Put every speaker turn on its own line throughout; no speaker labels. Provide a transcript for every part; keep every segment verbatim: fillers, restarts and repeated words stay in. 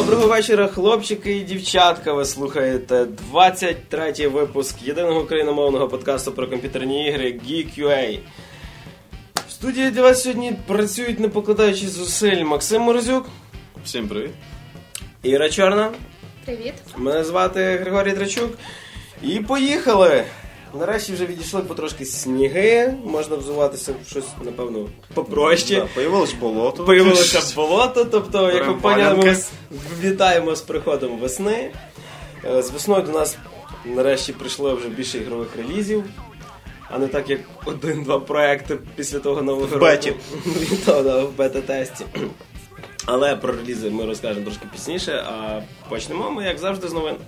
Доброго вечора, хлопчики і дівчатка. Ви слухаєте двадцять третій випуск єдиного україномовного подкасту про комп'ютерні ігри Geek.ua. В студії для вас сьогодні працюють, не покладаючи зусиль, Максим Морозюк.
Всім привіт.
Іра Чорна.
Привіт.
Мене звати Григорій Драчук. І поїхали! Нарешті вже відійшли потрошки сніги, можна взуватися в щось, напевно, попроще.
Да, появилось болото.
Появилося болото, тобто, як ви поняли, ми вітаємо з приходом весни. З весною до нас нарешті прийшло вже більше ігрових релізів, а не так, як один-два проекти після того нового року.
В беті.
В бета-тесті. Але про релізи ми розкажемо трошки пізніше, а почнемо ми, як завжди, з новин.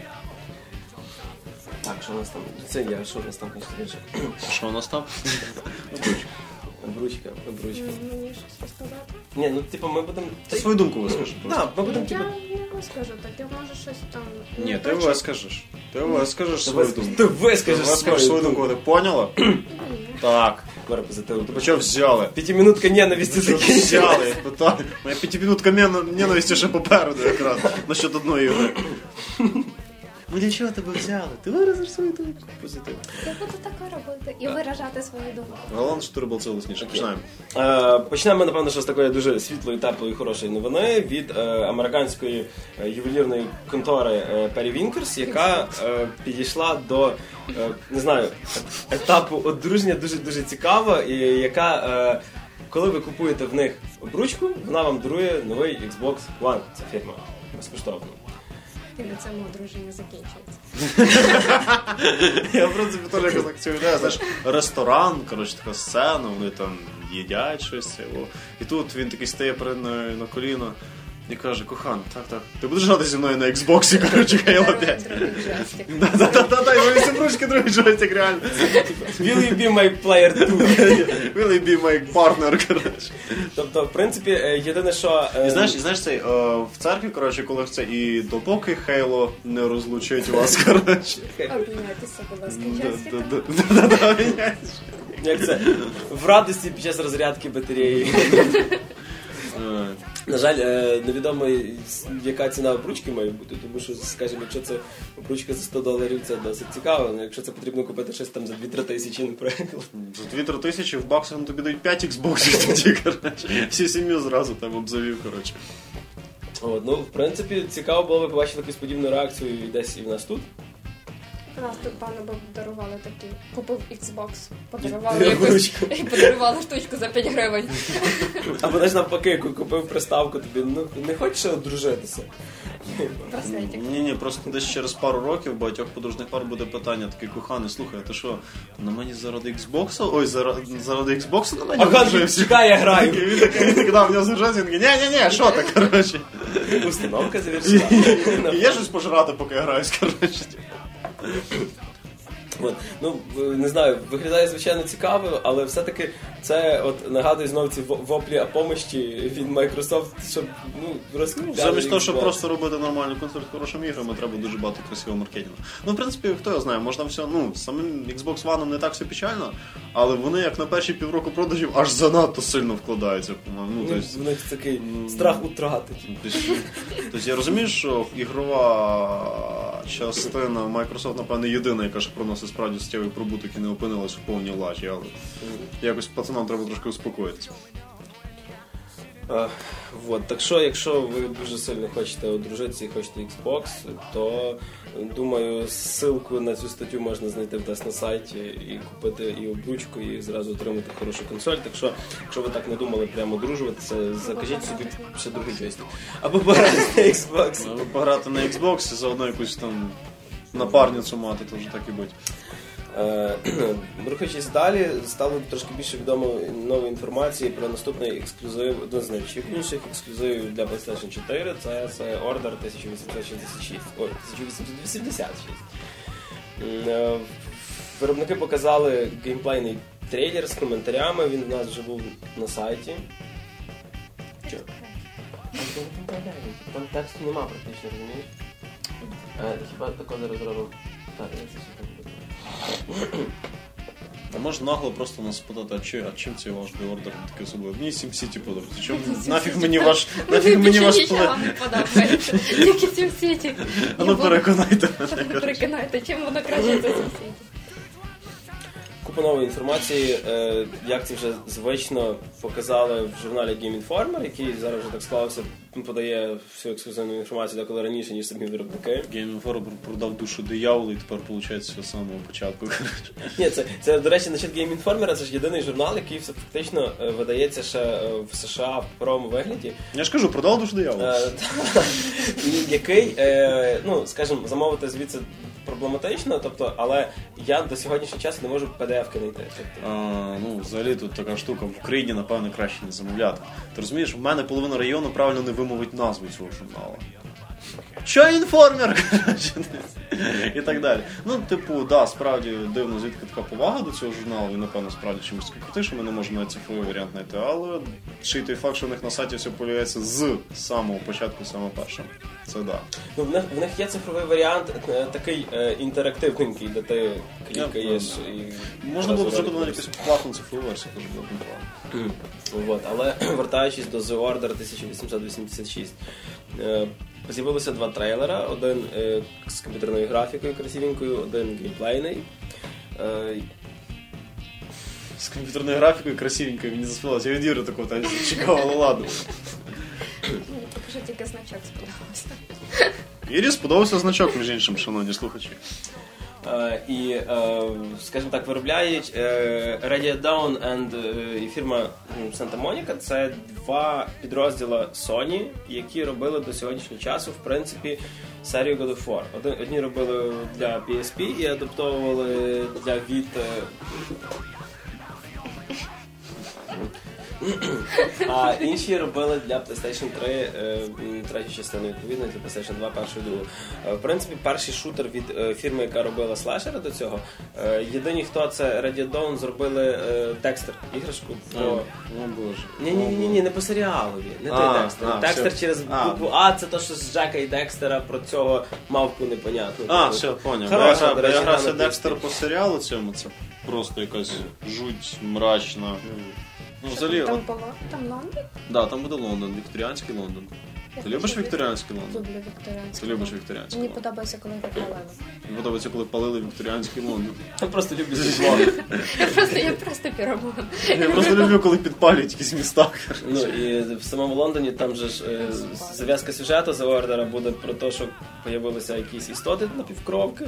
Так, що у нас там? Це я, що у нас там, конечно,
що у нас там?
Обручка, обручка.
Мені щось розказати?
Ні, ну, типу, ми будемо...
Ти свою думку вискажеш просто.
Так, ми будемо, типу...
Я не розкажу, так я можу щось там...
Ні, ти вискажеш. Ти вискажеш свою думку.
Ти вискажеш
свою думку, ти поняла? Так.
Говори позитивно.
Тебе що взяли?
П'ятиминутка ненависті закінчилась.
Взяли, я питаю. Моя п'ятиминутка ненависті ще попереду якраз. Насчет одної ігри. Ми для чого тебе взяли? Ти виразиш свою думку. Позитивно.
Я буду таке робити і виражати свою думку.
Головне, що ти робив це лисніше. Починаємо.
Е, почнемо, напевно, що з такої дуже світлої, теплої, хорошої новини від е, американської е, ювелірної контори е, Perry Winkers, яка е, підійшла до, е, не знаю, етапу одруження дуже-дуже цікаво, і яка, е, коли ви купуєте в них обручку, вона вам дарує новий Xbox One, ця фірма, безкоштовно.
І на цьому одруження закінчується.
Я, в принципі, теж якось так цю ідею, знаєш, ресторан, коротше, така сцена, вони там їдять щось. І тут він такий стає перед мною на коліно і каже: кохан, так, так, ти будеш грати зі мною на Xbox, коротше, Halo п'ять? Да-да-да, і вони всі ручки другий джойстик, реально.
Will you be my player two?
Will you be my partner, коротше.
Тобто, в принципі, єдине, що...
І знаєш, і знаєш цей, в церкві, коротше, коли це і допоки Halo не розлучить вас, коротше.
Обміняйтеся, будь ласка, джойстиком.
Да-да-да, обміняйтеся.
Як це? В радості під час розрядки батареї. На жаль, невідомо, яка ціна обручки має бути, тому що, скажімо, якщо це обручка за сто доларів, це досить цікаво, але якщо це потрібно купити щось там за дві-три тисячі, наприклад. За
дві-три тисячі в баксах тобі дають п'ять Xboxів тоді, коротше. Всю сім'ю зразу там обзавів, коротше.
От, ну, в принципі, цікаво було би побачити якусь подібну реакцію десь і в нас тут.
У нас тут, пане, б дарували такі. Купив Xbox, подарували якусь, і подарували штучку за п'ять гривень.
Або навіть навпаки, купив приставку тобі, ну, не хочеш одружитися?
Браслетик.
Ні-ні, просто десь через пару років багатьох подружних пар буде питання, такий: коханий, слухай, а ти що, на мені заради Xbox? Ой, заради, заради Xbox на мені
одружився? Чекай, я граю.
Він такий, він такий, да, в нього заржався, він такий: ні-ні-ні, що ти, коротше?
Установка завершена.
Є щось пожрати, поки я граюсь, коротше.
От. Ну, не знаю, виглядає звичайно цікаво, але все-таки це от нагадує знову ці воплі о помощі від Microsoft, щоб, ну, розкрутили.
Замість того, щоб просто робити нормальну консоль з хорошими іграми, треба дуже багато красивого маркетингу. Ну, в принципі, хто його знає, можна все, ну, самим Xbox One не так все печально, але вони, як на перші півроку продажів, аж занадто сильно вкладаються, по-моєму. Ну,
ну, в них такий страх утрати.
Тобто я розумію, що ігрова частина Microsoft, напевно, єдина, яка ж проносить справді суттєвий прибуток і не опинилась в повній лажі, але якось пацанам треба трошки успокоїтися.
Uh, вот. Так що, якщо ви дуже сильно хочете одружитися і хочете Xbox, то, думаю, ссылку на цю статтю можна знайти в нас на сайті і купити і обручку, і зразу отримати хорошу консоль. Так що, якщо ви так не думали прямо одружуватися, закажіть собі ще другий джойстик. Або пограти на Xbox.
Або пограти на Xbox і заодно якусь там напарницю мати, то вже так і будь.
Рухаючись далі, стало трошки більше відомо нової інформації про наступний ексклюзив, один з найвищих ексклюзивів для PlayStation чотири, це, це Order тисяча вісімсот шістдесят шість. Ой, тисяча вісімсот вісімдесят шість. Виробники показали геймплейний трейлер з коментарями, він у нас вже був на сайті. Що? Там тексту нема практично, розумієш? Хіба тако зараз зробимо? Так, я це все так буду.
А може нагло просто нас спитати, а, чи, а чим цей ваш The Order такий особливий? Мені SimCity подобається. Чому нафіг мені ваш нафіг мені ваш плей?
Нічого не подобається. Тільки SimCity.
А ну переконайте мене.
Переконайте, чим воно краще за SimCity.
Купа нової інформації, е, як це вже звично показали в журналі Game Informer, який зараз вже так склався, подає всю ексклюзивну інформацію деколи раніше, ніж самі виробники.
Game Informer продав душу дияволу і тепер виходить з самого початку.
Ні, це, це, до речі, насчет Game Informer, це ж єдиний журнал, який фактично е, видається ще в США в паперовому вигляді.
Я ж кажу, продав душу дияволу.
Е, і який, е, ну, скажімо, замовити звідси проблематично, тобто, але я до сьогоднішнього часу не можу пі ді еф-ки знайти. Тобто.
А, ну, взагалі тут така штука, в Україні, напевно, краще не замовляти. Ти розумієш, в мене половина району правильно не вимовить назву цього журналу. Що інформер? І так далі. Ну, типу, да, справді дивно, звідки така повага до цього журналу, він, напевно, справді чимось такий крутий, що ми не можемо навіть цифровий варіант знайти, але ще й той факт, що в них на сайті все появляється з самого початку, саме першим. Це да.
Ну, в них, в них є цифровий варіант, е, такий е, інтерактивненький, де ти клікаєш і...
Можна було б зробити навіть якусь платну цифрову версію, теж було б непогано.
Вот. Але вертаючись до The Order тисяча вісімсот вісімдесят шість, е, з'явилося два трейлера, один е, з комп'ютерною графікою красивенькою, один геймплейний. Е,
З комп'ютерною графікою красивенькою, мені засподобалося. Я від Юри такого там чекав, але ладно.
Мені поки що тільки значок сподобався.
Ірі сподобався значок, між іншим, шановні слухачі.
Uh, і, uh, скажімо так, виробляють uh, Radio Dawn and, uh, і фірма Santa Monica. Це два підрозділи Sony, які робили до сьогоднішнього часу, в принципі, серію God of War. Один, одні робили для пі ес пі і адаптовували для Vita. А інші робили для PlayStation три е, третю частину, відповідно, для PlayStation два першу і другу. Е, в принципі, перший шутер від е, фірми, яка робила слешера до цього. Е, єдині, хто це Radio Dawn, зробили е, Декстер, іграшку. Про...
О, о боже.
Ні-ні-ні, ні, не по серіалові, не той
А,
Декстер.
а,
Декстер
все.
через
А.
букву А, це то, що з Джека і Декстера про цього мавку непонятну.
А, все, поняв.
Хороша,
Я,
до
я
речі,
грався
гра на
Декстер по серіалу цьому, це просто якась жуть мрачна. Ну, взагалі,
Там
от,
було? Там Лондон?
да, там буде Лондон, вікторіанський Лондон.
Я
Ти любиш
хочу
вікторіанський Лондон?
Люблю вікторіанський.
Ти любиш вікторіанський
Мені
Лондон?
подобається, коли його палили.
Мені подобається, коли палили вікторіанський Лондон.
Я просто люблю зізвони.
Я просто, я просто піроман.
Я просто люблю, коли підпалюють якісь міста.
Ну і в самому Лондоні там же ж е, зав'язка сюжету The Order буде про те, що з'явилися якісь істоти напівкровки,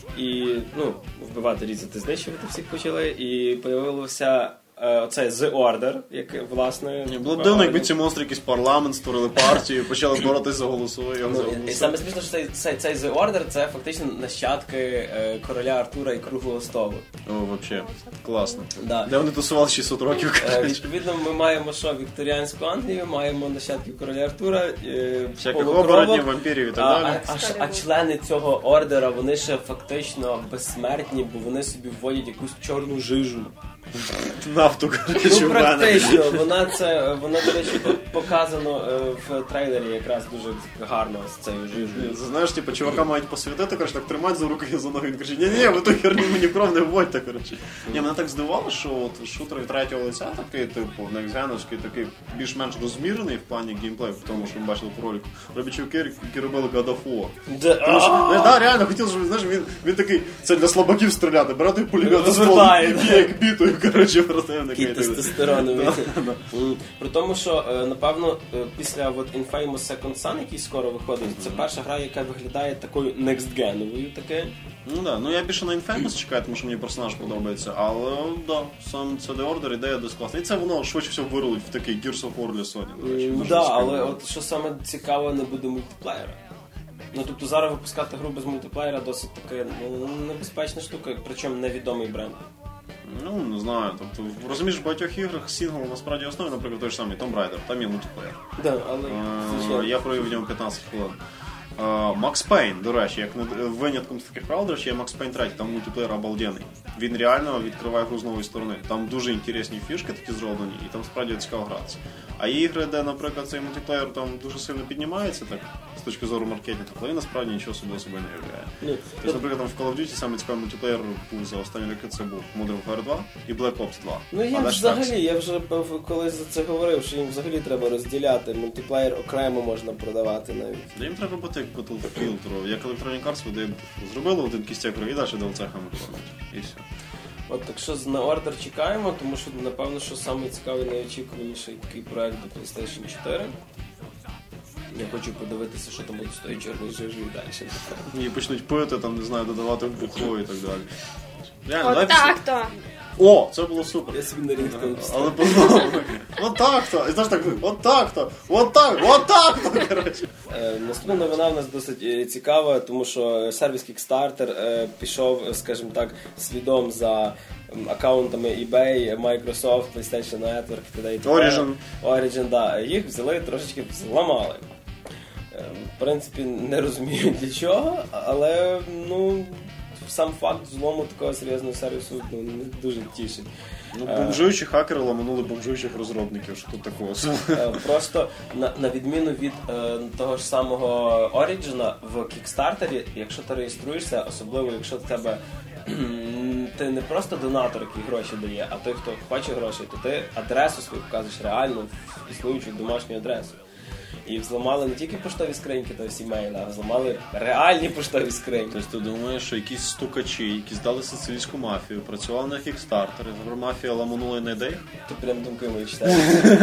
і ну, вбивати, різати, знищувати всіх почали, і з'явився е, оцей The Order, як власне.
Ні, було б дивно, якби ці монстри якийсь парламент створили партію, почали боротися за голосовий.
Ну, і, і саме смішно, що цей, цей, цей The Order це фактично нащадки е, короля Артура і Круглого столу.
О, взагалі, класно.
Да.
Де вони тусували шістсот років,
Е,
коротше.
відповідно, ми маємо що, вікторіанську Англію, маємо нащадків короля Артура, е,
Всяких
полукровок.
оборотнів, вампірів і так
А,
далі.
а, а, ш- а члени цього ордера, вони ще фактично безсмертні, бо вони собі вводять якусь чорну жижу.
Нафту, коротше,
Ну,
в мене.
практично, вона це, вона, до речі, показано е, в трейлері якраз дуже гарно з цією жижею.
Знаєш, типу, чувака мають посвятити, коротше, так тримати за руки і за ноги. Він каже, ні-ні, ви ту херню мені кров не вводьте, коротше. Ні, мене так здивувало, що от шутер від третього лиця такий, типу, некзеновський, такий більш-менш розмірений в плані геймплею, в тому, що ми бачили по ролику. Роблять чуваки, які робили God of War.
Де-
Тому що, знаєш, да, реально, хотів, щоб, знаєш, він, він такий, це для слабаків стріляти, бере той пулемет,
Розвертає,
і б'є як бітою, коротше, просто я
Такий
такий.
тестостероновий. М, При тому, що, е, напевно, е, після от Infamous Second Son, який скоро виходить, це перша гра, яка виглядає такою next-genovою таке.
Ну да, ну я більше на Infamous чекаю, тому що мені персонаж подобається, але да, сам це The Order, ідея досить класна. І це воно швидше всього вирулить в такий Gears of War для Sony, до речі.
Так,
дуже
да,
цікаво.
але от що саме цікаво, не буде мультиплеєра. Ну, тобто зараз випускати гру без мультиплеєра досить таке ну, небезпечна штука, причому невідомий бренд.
Ну, не знаю, тобто, розумієш, в багатьох іграх сингл насправді основі, наприклад, той ж самий Tomb Raider, там є мультиплеєр.
Да, але,
Е,
звичайно.
Я провів в ньому п'ятнадцять хвилин. Макс Пейн, до речі, як не- винятком з таких правил, до речі, є Макс Пейн три, там мультиплеєр обалденний. Він реально відкриває гру з нової сторони. Там дуже інтересні фішки такі зроблені, і там справді цікаво гратися. А А ігри, де, наприклад, цей мультиплеєр там дуже сильно піднімається, так, з точки зору маркетингу, але він насправді нічого собі собою не являє.
Ну,
тобто, наприклад, там в Call of Duty саме цікавий мультиплеєр був за останні роки, це був Modern Warfare два і Black Ops два.
Ну їм взагалі, я вже колись за це говорив, що їм взагалі треба розділяти. Мультиплеєр окремо можна продавати навіть.
Да їм треба бути як Battlefield, як Electronic Arts видає Battlefield. Зробили один кістяк і далі ді ел сі-хами кормять. І все.
От, так що на ордер чекаємо, тому що, напевно, що самий цікавий, найочікуваніший такий проект до PlayStation чотири. Я хочу подивитися, що там буде з тої чорної жижі і далі.
І почнуть пити, там, не знаю, додавати в бухло і так далі. Реально,
От так-то.
О, це було супер.
Я собі на рідко
Але познав. От так-то. І знаєш так, от так-то. От так, от так-то, коротше.
Е, наступна новина в нас досить е, цікава, тому що сервіс Kickstarter е, пішов, скажімо так, слідом за м, аккаунтами eBay, Microsoft, PlayStation Network, т.д. і т.п.
Origin.
Origin, да. Їх взяли, трошечки зламали. Е, в принципі, не розумію для чого, але, ну, сам факт злому такого серйозного сервісу, ну, не дуже тішить.
Ну, бомжуючі хакери ламанули бомжуючих розробників, що тут такого.
Просто на, на відміну від е, того ж самого Origin, в Kickstarter, якщо ти реєструєшся, особливо якщо в тебе ти не просто донатор, який гроші дає, а той, хто хоче грошей, то ти адресу свою вказуєш реальну, існуючу домашню адресу. І взламали не тільки поштові скриньки, то всі мейли, а взламали реальні поштові скриньки.
Тобто ти думаєш, що якісь стукачі, які здали сицилійську мафію, працювали на Kickstarter, і мафія ламанула на ідеях?
Ти прям думки мої читаєш.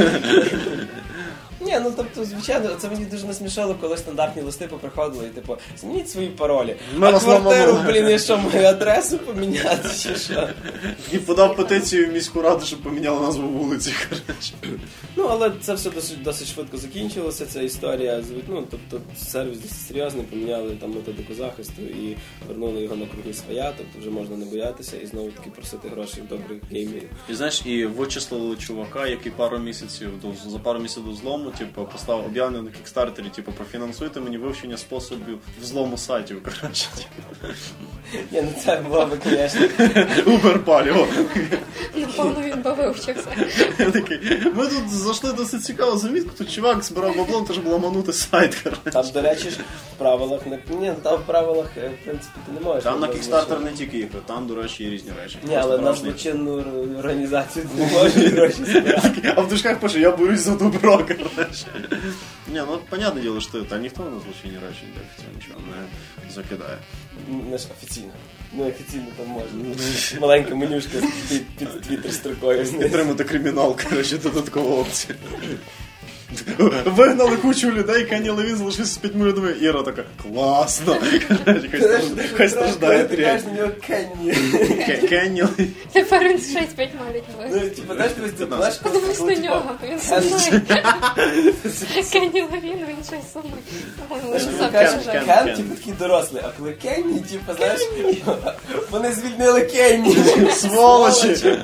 Ні, ну тобто, звичайно, це мені дуже насмішало, коли стандартні листи поприходили і типу, змініть свої паролі.
Ми
а
вас
квартиру,
ламанули.
блін, я що, мою адресу поміняти чи що?
І подав петицію в міську раду, щоб поміняли назву вулиці, коротше.
Ну, але це все досить, досить швидко закінчилося, ця історія. Ну, тобто, сервіс досить серйозний, поміняли там методику захисту і вернули його на круги своя, тобто вже можна не боятися і знову таки просити грошей в добрих геймерів.
І знаєш, і вичислили чувака, який пару місяців, до, за пару місяців до злому, типу, поставив об'явлення на Кікстартері, типу, профінансуйте мені вивчення способів взлому сайтів, коротше.
Ні, ну це було би, звісно.
Убер-паліо.
Напевно, він би вивчився.
Я такий, ми тут зайшли досить цікаву замітку, тут чувак збирав бабло, теж було ламанути сайт, коротше.
Там, до речі, ж в правилах не... Ні, там в правилах, в принципі, ти не можеш.
Там на Кікстартер не тільки ігри, там, до речі, є різні речі.
Ні, але на злочинну організацію ти не можеш гроші збирати.
А в дужках пише, я боюсь за добро, коротше. Ні, ну, понятне діло, що та ніхто на злочинні речі офіційно нічого не закидає.
Не ж офіційно. Ну, офіційно там можна. Маленька менюшка під, під твіттер строкою.
Підтримати кримінал, коротше, додаткова опція. Вигнали кучу людей, Кенні Левін залишився з п'ятьма людьми. Іра така, класно. Хай страждає
Ти кажеш на нього Кенні.
Кенні Левін.
Тепер він ще й з п'ятьма людьми.
Ну, типу, знаєш, ти знаєш,
Подивись на нього, він сумний. Кенні Левін, він ще й сумний. По-моєму, він сам
Кен,
пожежав.
Кен, типу, такий дорослий, а коли Кенні, типу, знаєш, вони звільнили Кенні.
Сволочі!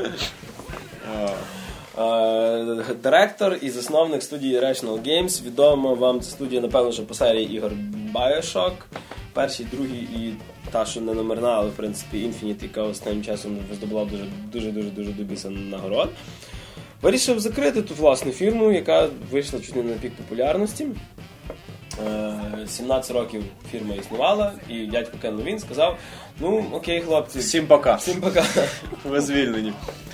Е, Директор і засновник студії Rational Games. Відомо вам ця студія, напевно, що по серії ігор Bioshock. Перший, другий і та, що не номерна, але, в принципі, Infinite, яка останнім часом здобула дуже-дуже-дуже добіса нагород. Вирішив закрити ту власну фірму, яка вийшла чуть не на пік популярності. сімнадцять років фірма існувала, і дядько Кен Левін сказав, ну, окей, хлопці.
Всім пока.
Всім пока.
Ви звільнені.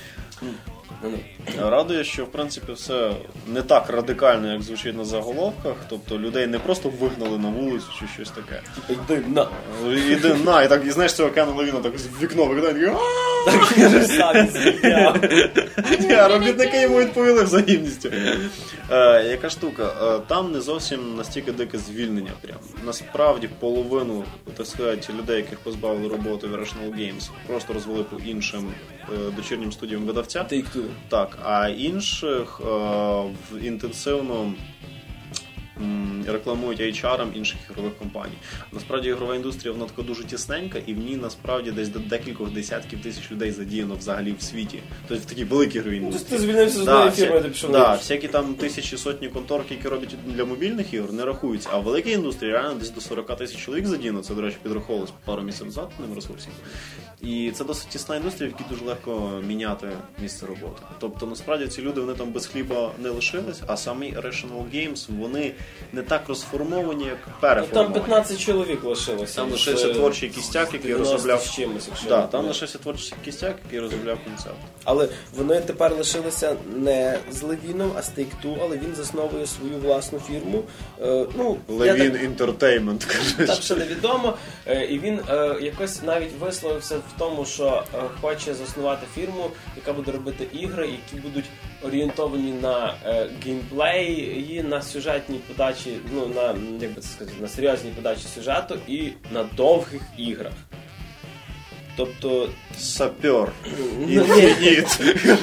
Радує, що в принципі все не так радикально, як звучить на заголовках. Тобто людей не просто вигнали на вулицю чи щось таке.
Йди на.
Іди на, і так, і знаєш цього Кена Левіна так з вікно виглядає.
Так він же сам звільняв.
Ні, робітники йому відповіли взаємністю. Е, яка штука? Е, там не зовсім настільки дике звільнення. Прям. Насправді половину, так сказати, людей, яких позбавили роботи в Rational Games, просто розвели по іншим е, дочірнім студіям видавця.
Take-Two.
Так, а інших е, в інтенсивно м, рекламують ейч ар інших ігрових компаній. Насправді ігрова індустрія, вона така дуже тісненька, і в ній насправді десь до декількох десятків тисяч людей задіяно взагалі в світі. Тобто в такій великій ігровій індустрії.
Ти звільнився з однієї фірми, ти пішов на
іншу.
іншу.
Всякі там тисячі, сотні конторки, які роблять для мобільних ігор, не рахуються. А в великій індустрії реально десь до сорок тисяч чоловік задіяно. Це, до речі, підраховувалось пару місяців назад ним ресурсів. І це досить тісна індустрія, в якій дуже легко міняти місце роботи. Тобто, насправді, ці люди, вони там без хліба не лишились, а самі Irrational Games, вони не так розформовані, як переформовані.
Там п'ятнадцять чоловік лишилося.
Там лишився творчий кістяк, який розробляв...
чимось, якщо
да, там лишився творчий кістяк, який розробляв концепт.
Але вони тепер лишилися не з Левіном, а з Take-Two, але він засновує свою власну фірму. Е, ну,
Левін
так...
Entertainment, кажуть.
Так, ще невідомо. Е, і він е, якось навіть висловився в тому, що е, хоче заснувати фірму, яка буде робити ігри, які будуть орієнтовані на е, геймплей і на сюжетній подачі, ну, на, як би це сказати, на серйозній подачі сюжету і на довгих іграх. Тобто...
Сапер. Інфініт.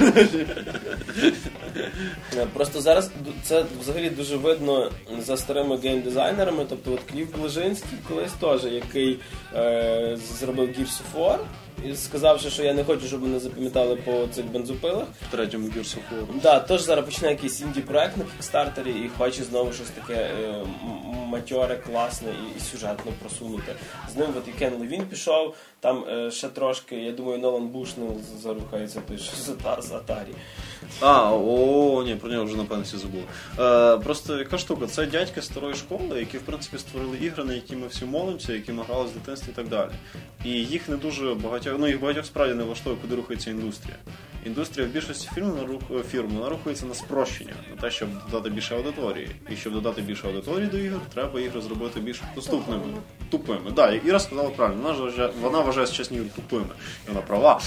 Просто зараз це взагалі дуже видно за старими геймдизайнерами. Тобто от Кліф Блажинський колись теж, який е, зробив Gears of War, і сказавши, що я не хочу, щоб мене запам'ятали по цих бензопилах.
В третьому Gears of War.
Да, тож зараз почне якийсь інді-проект на Кікстартері і хоче знову щось таке е, матьоре, класне і, і сюжетно просунути. З ним от і Кен Левін пішов, там е, ще трошки, я думаю, Нолан Бушнел зарухається той, що з Atari.
А, о, ні, про нього вже, напевно, всі забули. Е, просто яка штука, це дядьки старої школи, які, в принципі, створили ігри, на які ми всі молимося, які ми грали з дитинства і так далі. І їх не дуже багатьох, ну, їх багатьох справді не влаштовує, куди рухається індустрія. Індустрія в більшості фірм, фірм вона рухається на спрощення, на те, щоб додати більше аудиторії. І щоб додати більше аудиторії до ігор, треба ігри зробити більш доступними. Тупими. Так, да, Іра сказала правильно, вона вважає, вона вважає сучасні ігри тупими. І вона права.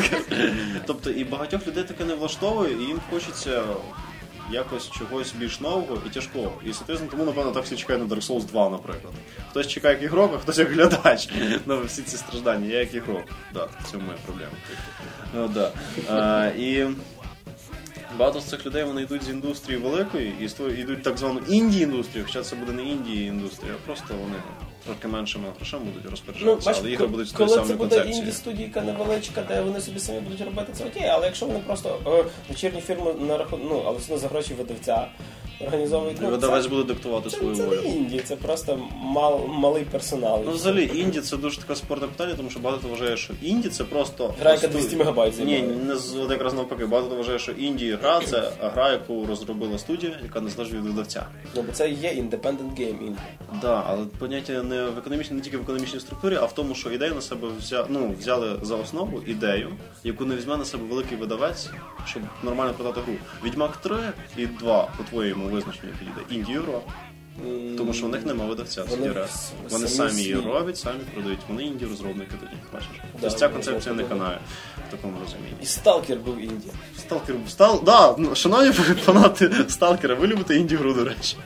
Тобто і багатьох людей таке не влаштовує, і їм хочеться якось чогось більш нового і тяжкого. І, соответственно, тому, напевно, так всі чекають на Dark Souls два, наприклад. Хтось чекає як ігрок, а хтось як глядач. Ну, всі ці страждання. Я як ігрок. Так, да, це моя проблема. Ну, да. а, і багато з цих людей, вони йдуть з індустрії великої і створюють, йдуть так звану інді-індустрію, хоча це буде не інді-індустрія, а просто вони трохи меншими грошами будуть розпоряджатися,
ну,
але ігри будуть з тої
коли
самої
це буде
концепції.
інді-студійка невеличка, де вони собі самі будуть робити, це окей, але якщо вони просто е, вечірні фірми на рахунок, ну, але все за гроші видавця організовують. Ну,
видавець буде диктувати
це,
свою
це
волю.
Це не інді, це просто мал, малий персонал.
Ну, взагалі, інді це дуже таке спорне питання, тому що багато вважає, що інді це просто...
Гра, яка двісті мегабайт
займає. Ні, не з, от якраз навпаки. Багато вважає, що інді гра це гра, яку розробила студія, яка не залежить від видавця.
Ну, бо це є independent game інді.
Так, да, але поняття не в економічній, не тільки в економічній структурі, а в тому, що ідею на себе взя, ну, взяли за основу ідею, яку не візьме на себе великий видавець, щоб нормально продати гру. Відьмак три і два, по твоєму визначенню, підійде інді-гра. Тому що в них нема видавця. Вони, вони самі, самі її роблять, самі продають. Вони інді-розробники тоді, бачиш. Да, тобто ця концепція не канає в такому розумінні.
І Сталкер був інді.
Сталкер був... Стал... Да, шановні фанати Сталкера, ви любите інді-гру, до речі.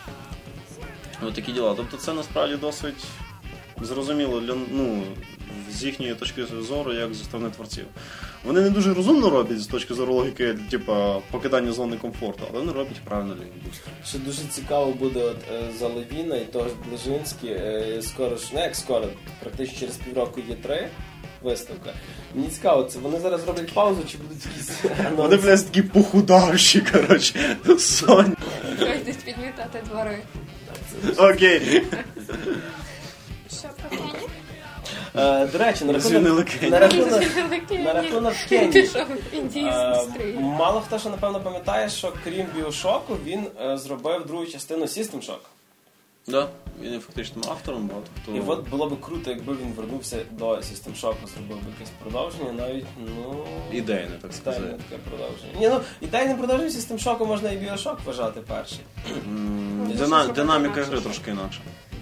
Ось такі діла. Тобто це насправді досить зрозуміло для, ну, з їхньої точки зору, як зі сторони творців. Вони не дуже розумно роблять з точки зору логіки, типа покидання зони комфорту, але вони роблять правильно для індустрії.
Що дуже цікаво буде от, е, за Левіна і того ж Блажинський, е, скоро ж, не як скоро, практично через півроку є три виставка. Мені цікаво, це вони зараз роблять паузу, чи будуть якісь анонси?
Вони, блядь, такі похудавші, коротше, Соня.
Пройдуть підмітати двори.
Окей.
Що про Кені?
Е, до речі, на
Звільнили
рахунок,
Кені.
на рахунок, на рахунок Кені.
Пішов в індійську
Мало хто ще, напевно, пам'ятає, що крім Біошоку, він е, зробив другу частину System Shock.
Да, він є фактичним автором, багато хто...
І от було б круто, якби він вернувся до System Shock, зробив би якесь продовження, навіть, ну...
Ідейне, так сказати.
Ідейне таке продовження. Ні, ну, ідейним продовженням System Shock можна і Біошок вважати перший.
Mm, дина, динаміка гри трошки інакша.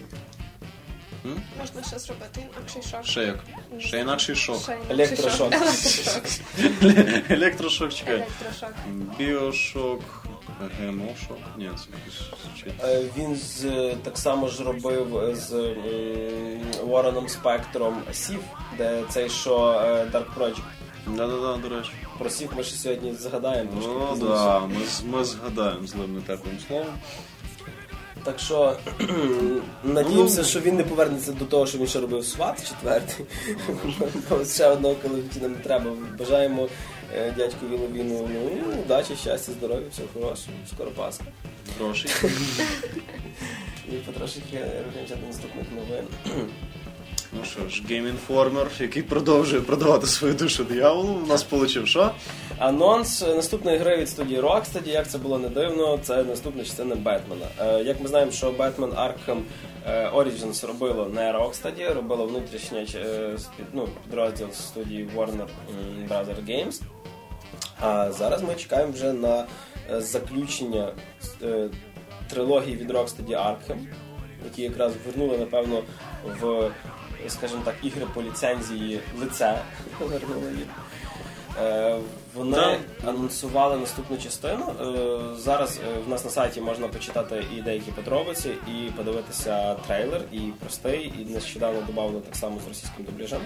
М?
Можна ще зробити інакший шок.
Ще як? Ще інакший шок.
Ще інакший
Електрошок.
Електрошок.
Електрошок, чекай.
Електрошок.
Біошок, ГМО-шок. Ні, це якийсь...
Е, Він з, так само ж робив з м, Вороном Спектром Сів, де цей що е, Dark Project.
Да-да-да, до речі.
Про Сів ми ще сьогодні згадаємо. трошки
О,
пізніше.
да, ми, з- ми згадаємо злим нетеплим словом.
Так що надіємося, що він не повернеться до того, що він ще робив сват четвертий. Бо ще одного колективу нам не треба. Бажаємо е, дядьку Віну-Віну ну, удачі, щастя, здоров'я, всього хорошого. Скоро Пасха.
Грошей.
І потрошки рухаємося до наступних новин.
Ну що ж, Game Informer, який продовжує продавати свою душу дияволу, у нас получив що?
Анонс наступної гри від студії Rocksteady, як це було не дивно, це наступна частина Бетмена. Е, як ми знаємо, що Batman Arkham Origins робило не Rocksteady, робило внутрішнє е, ну, підрозділ студії Warner Brothers Games. А зараз ми чекаємо вже на заключення е, трилогії від Rocksteady Arkham, які якраз вернули, напевно, в, скажімо так, ігри по ліцензії лице. Вернули їх. Е, вони
да.
анонсували наступну частину. Е, зараз е, в нас на сайті можна почитати і деякі подробиці, і подивитися трейлер, і простий, і нещодавно додавали так само з російським дубляжем.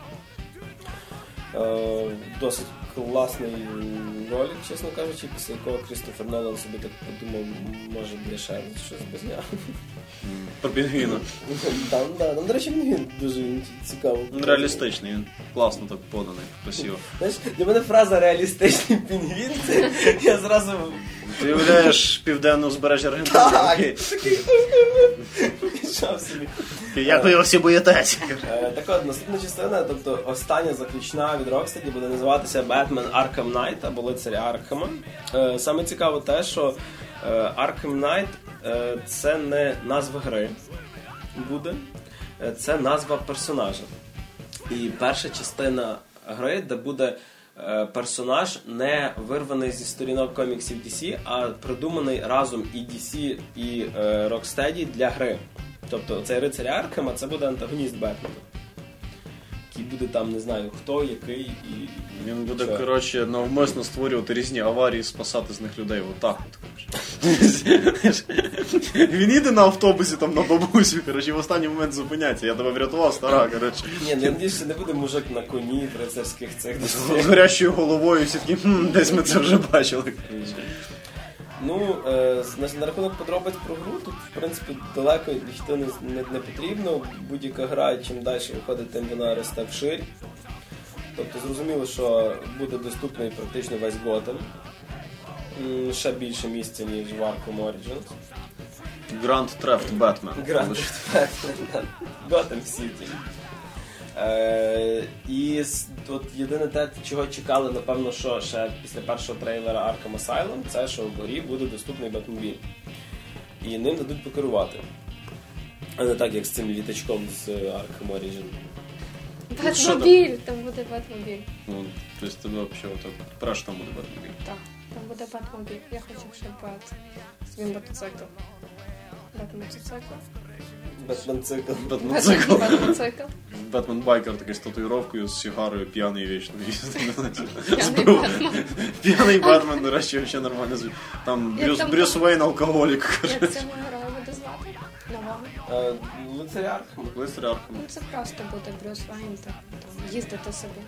Е, досить класний ролик, чесно кажучи, після якого Крістофер Нолан собі так подумав, може буде ще щось без нього.
Про пінгвіна.
Там, да, там, до речі, він дуже цікаво.
Реалістичний, він класно так поданий, красиво.
Знаєш, для мене фраза «реалістичний пінгвін» – це я зразу...
Ти уявляєш південне узбережжя Аргентини?
Так, такий... Пішов собі.
Як ви його всі боїтеся?
Так от, наступна частина, тобто остання заключна від Rocksteady буде називатися Batman Arkham Knight, або лицарі Аркхема. Саме цікаво те, що Arkham Knight – це не назва гри буде, це назва персонажа. І перша частина гри, де буде персонаж не вирваний зі сторінок коміксів ді сі, а придуманий разом і ді сі, і Rocksteady для гри. Тобто цей рицарь Аркхема, це буде антагоніст Бетмена. Який буде там, не знаю, хто, який і...
Він буде, що? коротше, навмисно створювати різні аварії, спасати з них людей. Отак от, коротше. Він їде на автобусі, там, на бабусю, коротше, і в останній момент зупиняється. Я тебе врятував, стара, коротше.
Ні, ну, я надіюсь, що не буде мужик на коні в рицарських цих...
З горящою головою, всі такі, хм, десь ми це вже бачили, коротше.
Ну, е, на, на рахунок подробиць про гру, тут, в принципі, далеко йти не, не, не потрібно. Будь-яка гра, чим далі виходить, тим вона росте вширь. Тобто, зрозуміло, що буде доступний практично весь Готэм. Ще більше місця, ніж в Arkham Origins.
Grand Theft Batman.
Grand Theft Batman. Gotham City. Е, і от єдине те, чого чекали, напевно, що ще після першого трейлера Arkham Asylum, це що в горі буде доступний Бетмобіль. І ним дадуть покерувати. А не так, як з цим літачком з Arkham Origin.
Бетмобіль! Там буде Бетмобіль.
Ну, тобто тебе взагалі так, перш там буде Бетмобіль.
Так, там буде Бетмобіль. Я хочу, щоб Бет свій мотоцикл. Бет-мотоцикл.
Бетмен-цикл.
Бетмен-цикл.
Бет-мотоцикл.
Бетмен-байкер такий з татуїровкою, з сигарою, п'яний вічно їздить.
П'яний Бетмен.
П'яний Бетмен, до речі, взагалі нормально звучить. Там Брюс,
там
Брюс Вейн алкоголік.
Як цього героя буде звати? Нового?
Лицарь Аркхема.
Лицарь Аркхема.
Ну це просто буде Брюс Вейн, так, там, їздити собі.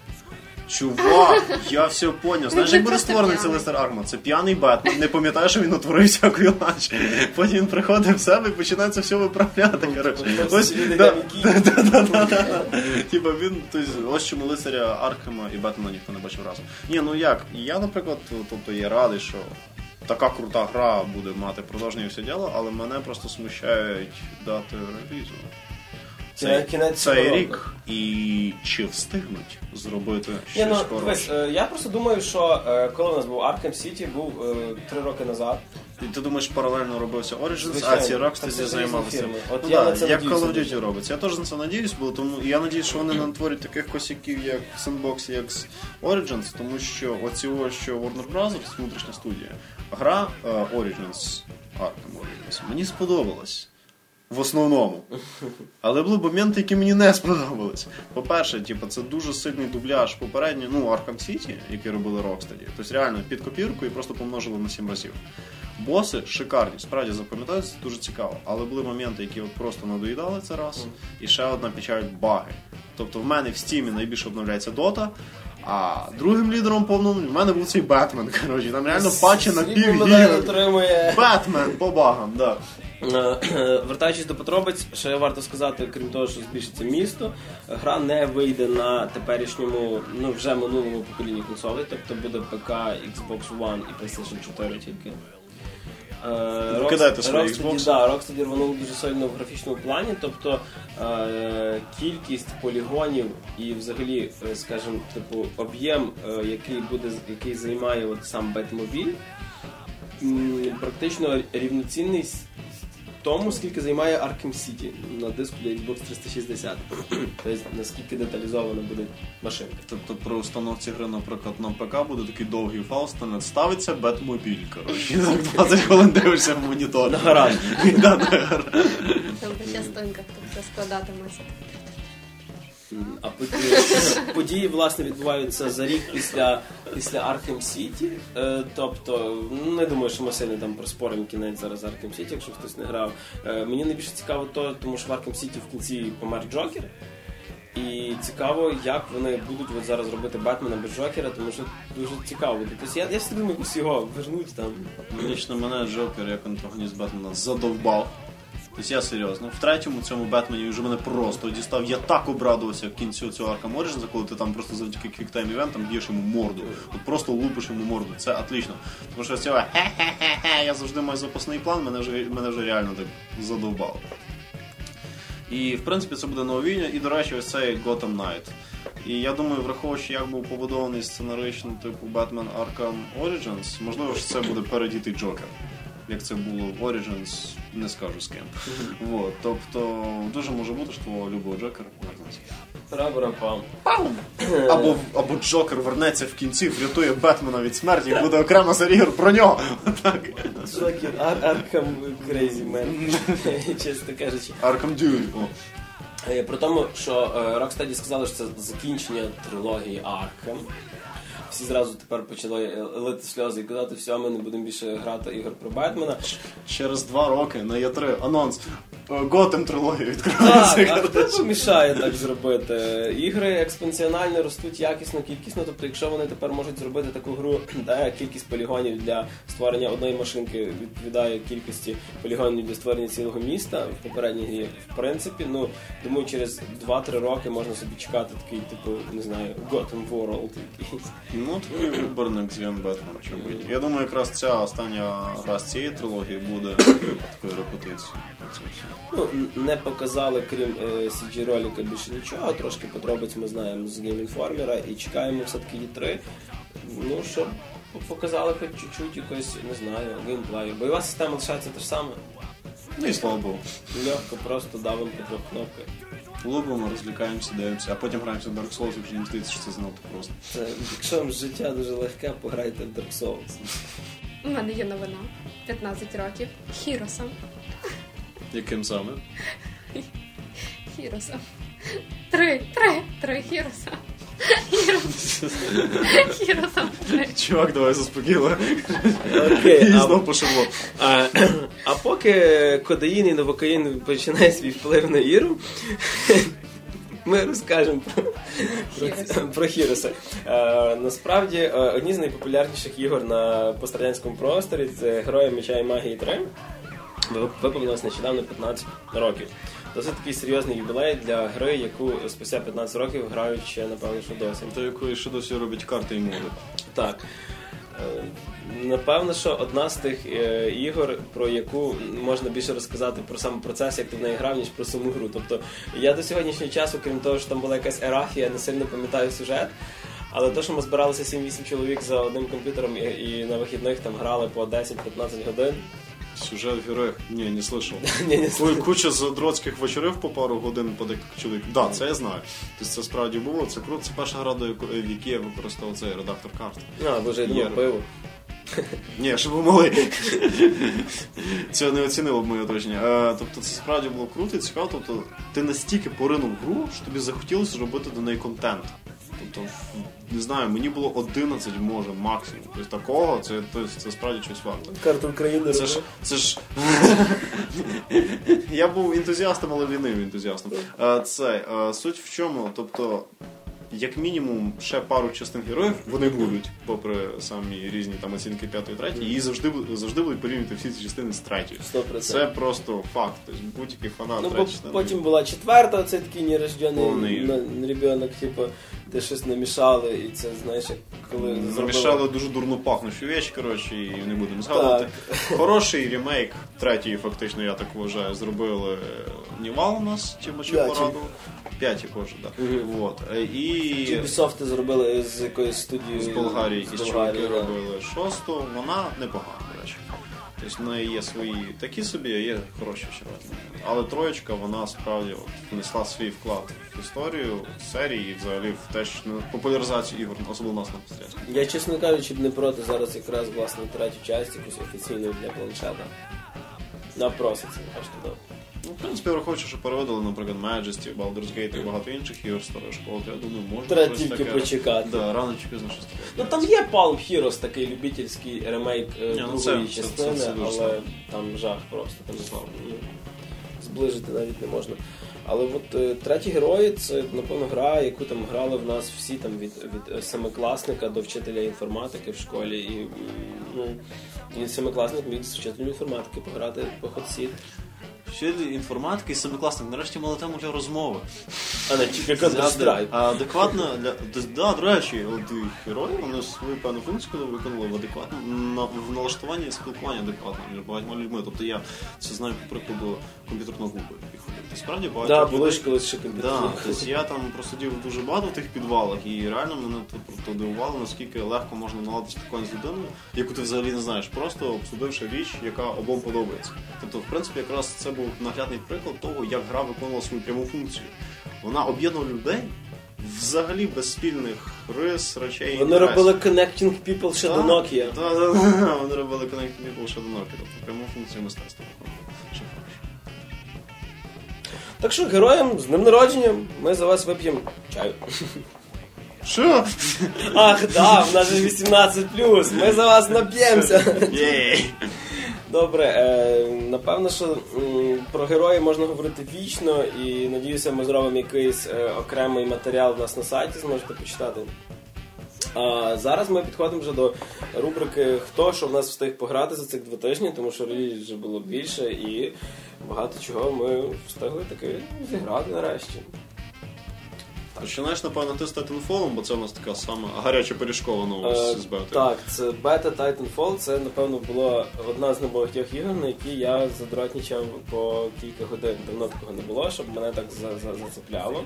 Чувак, я все поняв. Знаєш, як буде
просто
створений цей
п'яний.
лицар Аркхема? Це п'яний Бетмен, не пам'ятає, що він утворив всякої лач. Потім він приходить в себе і починає це все виправляти, коротше. Ось, да, да, да, да, да. Типа він, тобто, ось чому лицаря Аркхема і Бетмена ніхто не бачив разом. Ні, ну як, я, наприклад, тобто, є радий, що така крута гра буде мати продовження і все діло, але мене просто смущають дати релізу. Цей,
Кінець
цей
року.
рік, і чи встигнуть зробити
Ні,
щось
ну,
хороше?
дивись, е, я просто думаю, що е, коли у нас був Arkham City, був е, три роки назад.
І ти думаєш, паралельно робився Origins,
Звичайно.
а ці
Так,
Rocksteady
це
займалися.
різні фірми. От
Ну
я
да,
на це
як
надіюся
Call of
дуже.
Duty робиться. Я теж на це надіюсь, бо тому і я надіюсь, що вони не натворять таких косяків, як в Sandbox, як з Origins, тому що оці ось, що Warner Brothers, внутрішня студія, гра е, Origins, Arkham Origins, мені сподобалась. В основному. Але були моменти, які мені не сподобались. По-перше, типу, це дуже сильний дубляж попередньо, ну, Arkham City, який робили Rocksteady. Тобто реально під копірку і просто помножили на сім разів. Боси шикарні, справді запам'ятаються, дуже цікаво. Але були моменти, які от просто надоїдали це раз. І ще одна печаль – баги. Тобто в мене в Steam найбільше обновляється Dota, а другим лідером повним в мене був цей Бетмен, коротше. Там реально патчі на
Сліпо
пів
мене
гіга.
отримує.
Бетмен по багам, да.
Вертаючись до подробиць, ще варто сказати, крім того, що збільшиться місто, гра не вийде на теперішньому, ну вже минулому поколінні консолей, тобто буде ПК, Xbox One і PlayStation чотири тільки.
Викидайте свої
Rocksteady,
Xbox.
да, Rocksteady рванув дуже сильно в графічному плані, тобто е, кількість полігонів і взагалі, е, скажімо, типу, об'єм, е, який буде, який займає от сам Batmobile, м, практично рівноцінний з тому, скільки займає Arkham City на диску для Xbox триста шістдесят. Тобто, наскільки деталізована буде машинка.
Тобто при установці гри, наприклад, на ПК буде такий довгий фаустонет, ставиться Бетмобіль, коротше. І так двадцять хвилин дивишся в монітор.
На гараж.
Да, на гараж.
Там по частинках тут все складатиметься.
А події, події, власне, відбуваються за рік після, після Arkham City. Е, тобто, не думаю, що ми сильно там проспоримо кінець зараз Arkham City, якщо хтось не грав. Е, мені найбільше цікаво то, тому що в Arkham City в кінці помер Джокер. І цікаво, як вони будуть от зараз робити Бетмена без Джокера, тому що дуже цікаво. Тобто, я, я все думаю, якось його вернуть там.
Лично мене Джокер як антагоніст Бетмена задовбав. Тобто я серйозно. В третьому цьому Бетмені вже мене просто дістав. Я так обрадувався в кінці цього Arkham Origins, коли ти там просто завдяки квіктайм івентам б'єш йому морду. От просто лупиш йому морду. Це отлично. Тому що цього хе-хе-хе, я завжди маю запасний план, мене вже, мене вже реально так задовбало. І, в принципі, це буде нововіння. І, до речі, ось цей Gotham Knight. І я думаю, враховуючи, як був побудований сценарично типу Batman Arkham Origins, можливо, що це буде передітий Джокер. Як це було в Origins, не скажу з ким. Вот. Тобто, дуже може бути, що твого любого Джокера повернеться.
Пара-пара-пам.
Або, або Джокер вернеться в кінці, врятує Бетмена від смерті, і буде окрема серія про нього. Так.
Джокер, Ар- Arkham Crazy Man, чесно кажучи.
Arkham Duel. О.
Е, Про тому, що е, Rocksteady сказали, що це закінчення трилогії Arkham. Всі зразу тепер почали е, лити сльози і казати, все, ми не будемо більше грати ігор про Бетмена.
Через два роки на Е три анонс. Готэм трилогія відкривається.
Так, а хто помішає так зробити? Ігри експоненціонально ростуть якісно, кількісно, тобто якщо вони тепер можуть зробити таку гру, де кількість полігонів для створення одної машинки відповідає кількості полігонів для створення цілого міста в попередній грі, в принципі, ну, думаю, через два-три роки можна собі чекати такий, типу, не знаю, Gotham World якийсь.
Ну, твій виборник Зіон Бетмен, чому ні. Я думаю, якраз ця остання раз цієї трилогії буде такою репетицією.
Ну, не показали, крім е, сі джі ролика, більше нічого, трошки подробиць ми знаємо з Game Informer і чекаємо все-таки Е три, ну, щоб показали хоч чуть-чуть якось, не знаю, геймплею. Бойова система лишається те ж саме.
Ну і слава Богу.
Легко, просто давимо по двох кнопках.
Лупимо, розвлікаємося, дивимося, а потім граємося в Dark Souls, якщо їм здається, що це занадто просто.
Це, якщо вам життя дуже легке, пограйте в Dark Souls.
У мене є новина. п'ятнадцять років. Хіроса.
Яким саме?
Хіроса. Три, три, три Хіроса. Хіроса. Хіроса. Три.
Чувак, давай заспокійно.
Окей,
І
а,
знов пошло.
а, а поки кодеїн і новокаїн починає свій вплив на Іру, ми розкажемо про, про, про Хіроса. Е, насправді, е, одні з найпопулярніших ігор на пострадянському просторі – це Герої Меча і Магії три. Виповнилось нещодавно п'ятнадцять років. Досить такий серйозний юбілей для гри, яку спустя п'ятнадцять років грають ще, напевно, що досі.
До якої ще досі роблять карти і моди.
Так. Е, Напевно, що одна з тих е, ігор, про яку можна більше розказати про сам процес, як ти в неї грав, ніж про саму гру. Тобто, я до сьогоднішнього часу, крім того, що там була якась ерафія, не сильно пам'ятаю сюжет, але те, що ми збиралися сім-вісім чоловік за одним комп'ютером і, і на вихідних там грали по десять-п'ятнадцять годин.
Сюжет в героях? Ні, не слышав.
Ні, не
Коли куча задротських вечорів по пару годин по декілька чоловік. Так, да, це я знаю. Тобто це справді було, це круто. Це перша гра, до якої, в якій я використовував цей редактор карт.
А, боже, я думав, пиво.
Ні, щоб ви могли. Це не оцінило б моє оточення. Е, тобто це справді було круто і цікаво. Тобто ти настільки поринув в гру, що тобі захотілося робити до неї контент. Тобто, не знаю, мені було одинадцять, може, максимум. Тобто такого, це, це, це справді щось варто.
Карту України
Це ж, це ж... Я був ентузіастом, але лінивий ентузіастом. Е, це, е, суть в чому, тобто, як мінімум, ще пару частин героїв вони будуть, попри самі різні там оцінки п'ятої, третьої, і завжди, завжди будуть порівнювати всі ці частини з третьою.
сто процентів.
Це просто факт. Тобто будь-який фанат
Ну,
третьої
бо
частини.
потім була четверта, це такий нерождений
Повний.
на- ребенок, типу, де щось намішали, і це, знаєш, як коли
Намішали
зробили...
дуже дурно пахнучу річ, коротше, і не будемо згадувати. Хороший ремейк третьої, фактично, я так вважаю, зробили Нівал у нас, Тімочі
П'ятій.
Пораду. П'яті, боже, так.
Мгм.
Вот. І
Ubisoft зробили з якоїсь студії
з Болгарії,
з
із
Болгарії,
чуваки
да.
робили шосту, вона непогана, до речі. Тобто в неї є свої такі собі, а є хороші червоні. Але троєчка, вона справді от, внесла свій вклад в історію серії і взагалі в те, що на популяризацію ігор, особливо у нас на пострілянську.
Я, чесно кажучи, б не проти зараз якраз, власне, третю часть, якусь офіційну для планшета. Напроситься, аж туди.
Ну, в принципі, враховуючи, що переводили, наприклад, Majesty, Baldur's Gate і багато інших ігор старої школи, то я думаю, можна
Треба
щось
тільки
таке...
почекати.
Да, рано чи пізно щось таке.
Ну там є Palm Heroes, такий любительський ремейк е,
Ні, ну,
другої
це- це-
частини,
це- це дуже
але
слабо.
там жах просто, там ну, зближити навіть не можна. Але от е, треті герої це, напевно, гра, яку там грали в нас всі там від, від е, семикласника до вчителя інформатики в школі. І, м, ну, і семикласник міг з вчителем інформатики пограти по Hot
Вчитель інформатики і семикласник нарешті мали тему для розмови.
А не тільки Counter-Strike.
А адекватно, для, да, до речі, от і герої, вони свою певну функцію коли виконували в адекватно, на, в налаштуванні спілкування адекватно між багатьма людьми. Тобто я це знаю по прикладу комп'ютерного клубу, який ходив. Тобто, справді багато
Да,
людей...
були ж колись ще комп'ютери.
Да, тобто я там просидів дуже багато в тих підвалах, і реально мене тут просто дивувало, наскільки легко можна наладити спілкування з людиною, яку ти взагалі не знаєш, просто обсудивши річ, яка обом подобається. Тобто, в принципі, якраз це був наглядний приклад того, як гра виконувала свою пряму функцію. Вона об'єднувала людей взагалі без спільних рис, речей.
Вони робили Connecting People ще до Nokia.
Так, так, так, вони робили Connecting People ще до Nokia. Тобто, пряму функцію мистецтва виконували. Ще хороше.
Так що, героям з днем народження, ми за вас вип'ємо чаю.
Що?
Ах, да, в нас же вісімнадцять плюс, ми за вас нап'ємося.
Єй!
Добре, е, напевно, що м, про героїв можна говорити вічно, і надіюся, ми зробимо якийсь е, окремий матеріал в нас на сайті, зможете почитати. А зараз ми підходимо вже до рубрики «Хто що в нас встиг пограти за цих два тижні», тому що релізів вже було більше і багато чого ми встигли таки зіграти нарешті.
Починаєш, напевно, ти з Titanfall, бо це у нас така сама гаряча пиріжкова новость
Е,
з бети.
Так, це бета Titanfall, це, напевно, була одна з небагатьох ігор, на які я задротнічав по кілька годин. Давно такого не було, щоб мене так за, за, зацепляло.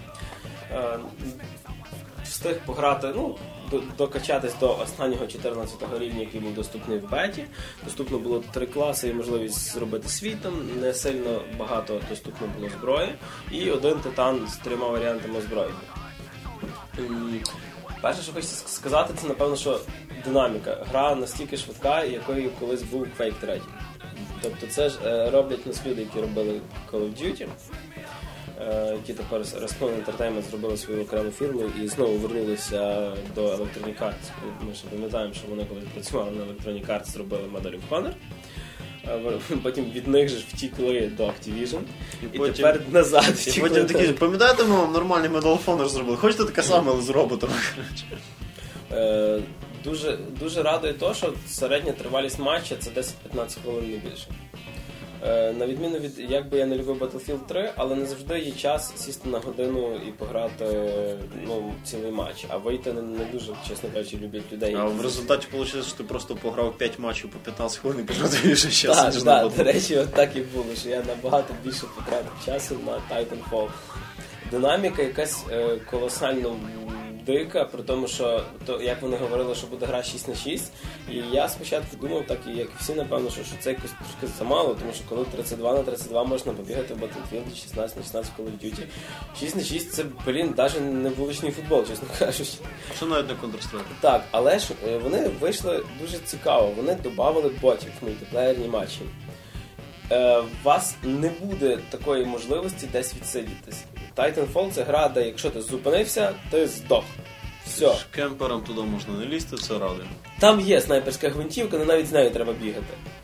Е, Встиг пограти, ну, до- докачатись до останнього чотирнадцятого рівня, який був доступний в беті. Доступно було три класи і можливість зробити свій там, не сильно багато доступно було зброї. І один титан з трьома варіантами зброї. М, Перше, що хочеться сказати, це, напевно, що динаміка. Гра настільки швидка, якою колись був Quake три. Тобто це ж е, роблять нас люди, які робили Call of Duty, е, які тепер Respawn Entertainment зробили свою окрему фірму і знову вернулися до Electronic Arts. Ми ще пам'ятаємо, що вони коли працювали на Electronic Arts, зробили Medal of Honor. Е, Потім від них же ж втікли до Activision. І,
потім-
тепер назад
І
втікли.
потім такі, пам'ятаєте, ми вам нормальний Medal of Honor зробили? Хочете таке саме, але з роботом?
Е, Дуже, дуже радує те, що середня тривалість матча це десять-п'ятнадцять хвилин, не більше. Е, На відміну від, як би я не любив Battlefield три, але не завжди є час сісти на годину і пограти, ну, цілий матч. А вийти не, не дуже, чесно кажучи, люблять людей.
А в результаті вийшло, що ти просто пограв п'ять матчів по п'ятнадцять хвилин і потратив більше часу,
Так,
ніж на
так, до
Battlefield.
речі, от так і було, що я набагато більше потратив часу на Titanfall. Динаміка якась е, колосально дика, при тому, що то, як вони говорили, що буде гра шість на шість, і я спочатку думав, так і як і всі, напевно, що, що це якось трошки замало, тому що коли тридцять два на тридцять два можна побігати в Battlefield, шістнадцять на шістнадцять в Call of Duty. шість на шість це, блін, навіть не вуличний футбол, чесно кажучи.
Що навіть не Counter-Strike?
Так, але ж е, вони вийшли дуже цікаво. Вони додавали ботів в мультиплеєрні матчі. Е, У вас не буде такої можливості десь відсидітись. Titanfall — це гра, де якщо ти зупинився, ти здох. Все.
Кемперам туди можна не лізти, це радує.
Там є снайперська гвинтівка, але навіть з нею треба бігати.